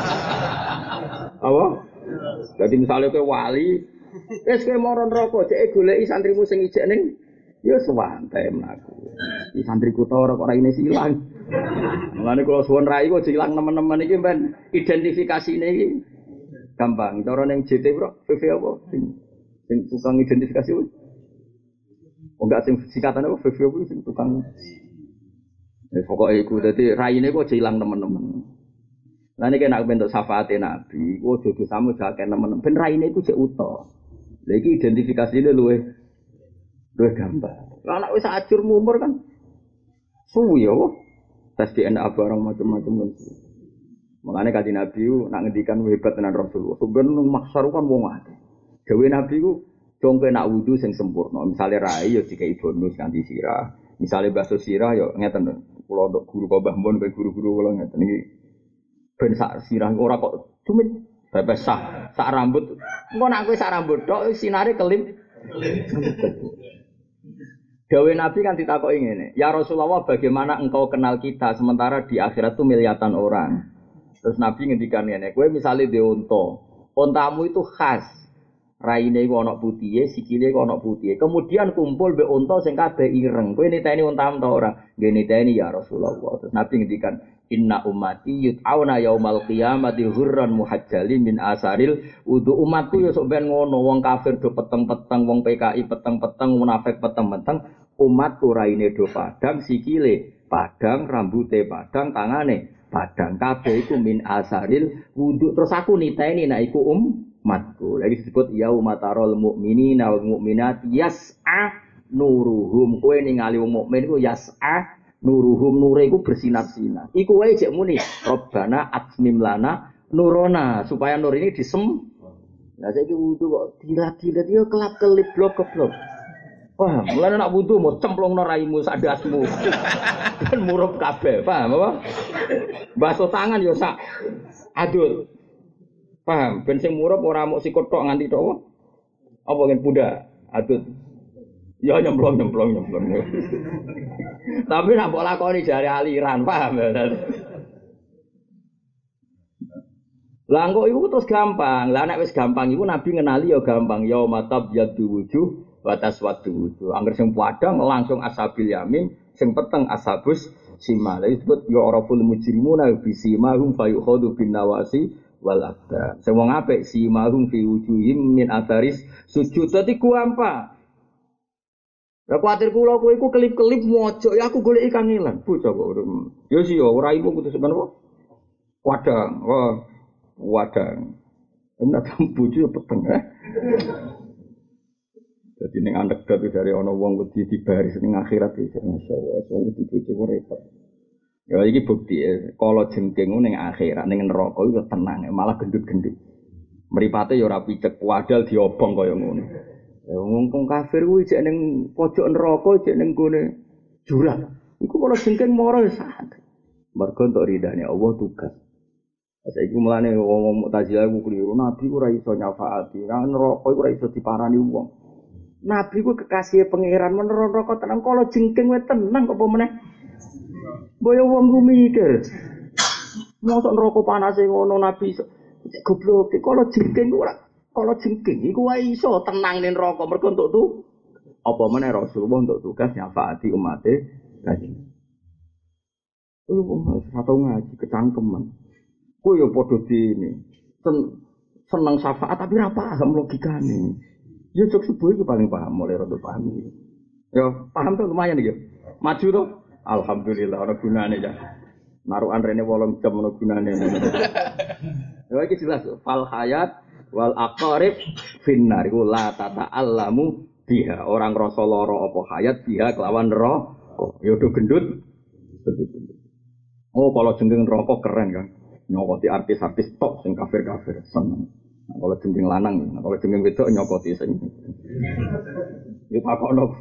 Apa? Jadi misalnya kowe wali, wis kowe moro neraka, cek goleki santrimu sing ijek ning ya sewantai mlaku. Iki santriku ta ora kok raine silang. Mulane kula suwun rai kok silang nemen-nemen iki ben identifikasine iki gampang. Cara ning J T Bro, V V apa? Sing sing tukang identifikasi kuwi. Oh enggak sing singkatan apa V V kuwi sing tukang wis pokoke iku dadi raine kok ilang teman-teman. Lah nek nek bentuk syafaate Nabi, ku aja disamu jake teman-teman. Ben raine iku jek utuh. Lah iki identifikasine luwih luwih gampang. Lah nek wis ajur umur kan suwi ya. Tes D N A barang macam-macam kan. Makane kanjeng Nabi ku nak ngendikan hebat tenan Rasulullah. Sebenarnya maksar kan wong akeh. Dewe Nabi ku dongke nak wudu sing sempurna. Misale rai ya dikai bonus kanthi sirah. Misale bakso sirah ya ngeten. Kula untuk guru Mbah Mun kaya guru-guru kula ngeten iki ben sak sirah ora kok cumit bebas sah sak rambut engko nek kowe sak rambut tok sinare kelip Dawe Nabi kan ditakoki ngene ya Rasulullah bagaimana engkau kenal kita sementara di akhirat itu miliatan orang terus Nabi ngendikan ngene kowe misale dhe unta untamu itu khas raine iku ana putihe sikile iku ana putihe kemudian kumpul mbek unta sing kabeh ireng kowe niteni untamu ta ora nggih niteni ya Rasulullah terus Nabi ngendikan inna ummati yut'auna yaumal qiyamati hurran muhajjalin min asaril wudu umatku ya sok ben ngono wong kafir do peteng-peteng wong P K I peteng-peteng munafik peteng-peteng umatku raine do padang sikile padang rambute padang tangane padang kabeh iku min asaril wudu terus aku niteni nek iku um matku lagi disebut yaumatarul mukminina wal mukminat yas'a nuruhum kowe ningali wong mukmin iku yas'a nuruhum nure iku bersinar-sinar iku wae jek muni robbana atmim lana nurona supaya nur ini disem lah saiki wudu kok dilat-dilat yo kelap-kelip blok-blok wah mulane nak wudu mau cemplungno raimu sak dasmu ben murup kabeh paham apa basuh tangan yo sak adul paham, ben sing murup ora mok sikut tok nganti tok. Apa kan budak? Adut. Ya nyemplung nyemplung nyemplung. Tapi nek mbok lakoni jare aliran, paham ya. Lah kok iku terus gampang. Lah nek wis gampang iku Nabi ngenali ya gampang. Ya matab yadu wujuh wa taswadu wujuh. Angger sing padang langsung ashabil yamin, sing peteng ashabus simal. Disebut ya araful mujrimuna bi simahum fayukhadu bin nawasi wal abda. Sing wong apik si mahum fi wujuhim min atharis sujud. Dadi gampang. Lah kuwatir kula kowe iku kelip-kelip mojok ya aku goleki kangelan. Bocah kok. Ya sih ya ora ibu kudu sebenarnya. Wadang. Wah, wadang. Enak bojo ya peteng. Jadi ning anekdot dari ana wong wedi dibaris ning akhirat iki masyaallah wong wedi bojo repot. Ya iki bukti ya, kala jengking ning akhirat ning neraka iku tenang malah gendut-gendut. Mripate ya ora picek wadal diobong kaya ngono. Ya wong kafir kuwi jek ning pojok neraka jek ning gone jurang. Iku kala jengking mara ya sak. Mergo entuk ridane Allah tugas. Saiki mulane wong Mu'tazilah ku kliru nabi ora iso nyafaati. Nang neraka iku ora iso diparani wong. Nabi ku kekasih pangeran men neraka tenang kala jengking wae tenang apa meneh. Boyo wong ku mikir. Mosok neraka panase ngono nabi goblok kala jengking ora kala jengking iku wae iso tenang ning neraka mergo entuk tu apa meneh Rasulullah untuk tugas nyafaati umate kanjeng. Oh wong satu ngaji kecangkeman. Ku yo padha dene. Seneng syafaat tapi ora paham logikane. Ya cok subuh itu paling paham, mulai rada paham. Ya paham tuh lumayan ya. Maju tuh. Alhamdulillah ana gunane ya. Narukan rene wolong jam ana gunane. Ya iki jelas fal hayat wal aqarib finnar iku la tata'allamu biha. Orang rasa lara apa hayat biha kelawan neraka. Ya do gendut. Oh kalau jeneng neraka keren kan. Nyokoti artis-artis top sing kafir-kafir seneng. Nah, kalau jeneng lanang, nah, kalau jeneng wedok nyokoti sing. Yo takokno.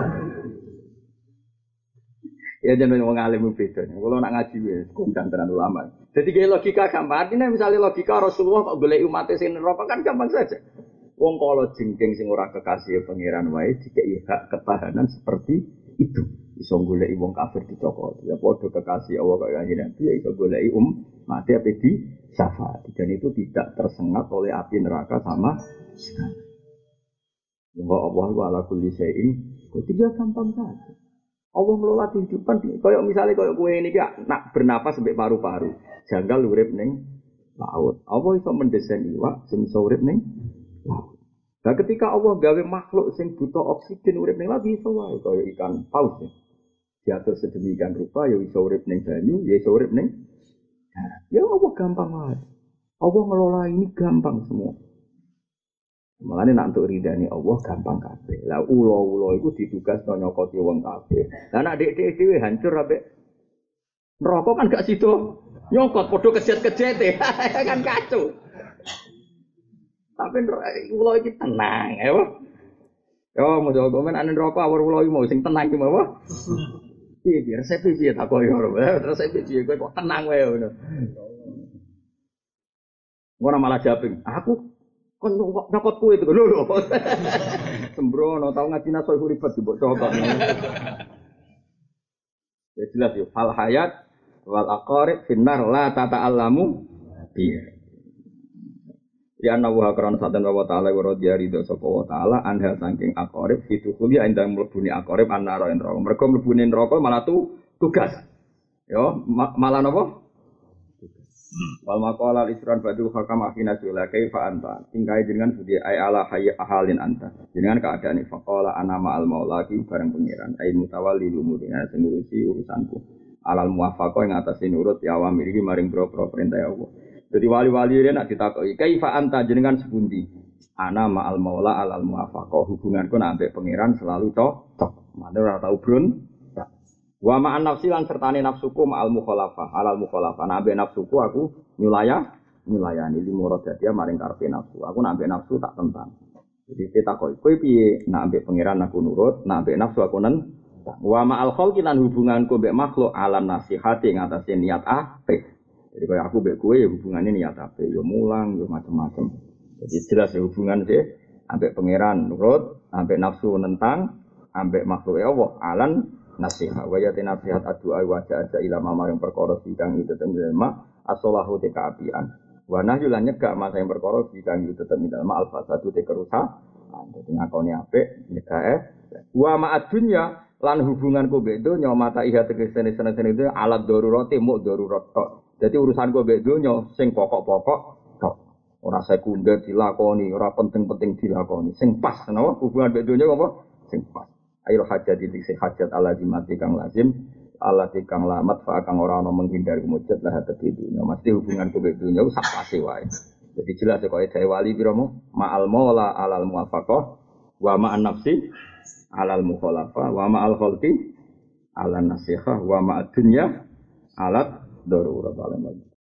Ya jeneng wong alim beda. Kalau nak ngaji wis kondang tenan ulama. Jadi kayak logika gampang. Artinya misalnya logika Rasulullah kok golek umat sing neraka kan gampang saja. Wong kalau jengking sing ora kekasih pangeran wae dikeki hak ketahanan seperti itu. Iso goleki wong kafir dicokot. Ya padha kekasih Allah kaya kanjeng Nabi ya iso goleki um mati ape di syafaat. Dan itu tidak tersengat oleh api neraka sama sekali. Wa Allah wa ala kulli syai'in qadir gampang saja. Allah ngelola kehidupan kaya misalnya kaya kowe ini ki nak bernapas sampai paru-paru. Janggal urip ning laut. Allah iso mendesain iwak sing iso urip ning laut. Nah ketika Allah gawe makhluk sing butuh oksigen urip ning laut iso wae kaya ikan paus. Diatur sedemikian rupa ya iso urip ning banyu, ya iso urip ning darat. Ya Allah gampang wae. Allah ngelola ini gampang semua. Mulane nak untuk ridani Allah gampang kabeh. Lah ula-ula iku ditugasno nyokoti wong kabeh. Lah nek dhek-dhek dhewe hancur ambek neraka kan gak sido nyokot padha kejet-kejete. Kan kacau. Tapi ula iki tenang, ya. Yo mau jago men ane neraka awur ula iki mau sing tenang iki mau. Piye piye resep piye tak koyo ora. Resep piye kowe kok tenang wae ngono. Ora malah japing. Aku kon nyokot kuwe itu lho lho. Sembrono tau ngaji naso ribet mbok cokot. Ya jelas yo fal hayat wal aqarib finnar la tata'allamu biya. Ya ana wa karon saten wa ta'ala wa radhiya ridho sapa wa ta'ala anha saking aqarib fitu kuliah endang mlebune aqarib annara neraka. Mergo mlebune neraka malah tu tugas. Yo malah napa? Wal maqala al-isran badu hakam afina sula kaifa anta tingkai dengan budi ay ala hayy ahalin anta jenengan keadaan faqala ana ma'al maula ki bareng pangeran ay mutawalli umurina sing ngurusi urusanku alal muwafaqah ing atase nurut ya wa miriki maring pro-pro perintah Allah. Jadi wali-wali rene nak ditakoki kaifa anta jenengan sepundi ana ma'al maula alal muwafaqah hubunganku nak ambek pangeran selalu cocok maneh ora tau brun. Wa ma'an nafsi lan sertane nafsuku ma'al mukhalafah alal mukhalafah nabe nafsuku aku nyulaya nyulayani limoro dadi maring karepe nafsu aku nabe nafsu tak tentang jadi kita kowe kowe piye nabe pangeran aku nurut nabe nafsu aku nentang wa ma'al khalqi lan hubunganku mbek makhluk alam nasihati ngatasi niat apik jadi koyo aku mbek kowe ya hubungane niat apik ya mulang ya macam-macam jadi jelas ya hubungan sih ambek pangeran nurut ambek nafsu nentang ambek makhluk Allah alan nasihat wajate nasihat addu'a wajah aja ilama maring perkara sidang itu temen as-salahu te kaapian wa nahyu lan nyegah masa yang perkara sidang itu temen ilma al-fasadu te kerusakan dadi ngakoni apik nyegah eh wa ma'ad dunya lan hubunganku mbek donya mata iya tegese seneng-seneng itu alat darurate muk darurat tok dadi urusanku mbek donya sing pokok-pokok tok ora sekunder dilakoni ora penting-penting dilakoni sing pas napa hubungan mbek donya apa sing pas ayo hajat titik sing hajat ala dimati kang lazim ala tikang lamat fa kang ora ana menghindari mujud lah hati dunya mesti hubungan kowe dunya sak pase wae Jadi jelas kok dari wali biromo ma'al maula alal muwafaqah wa ma'an nafsi alal mukhalafah wa ma'al khalqi alal nasihah wa ma'ad dunya alat darurat alam.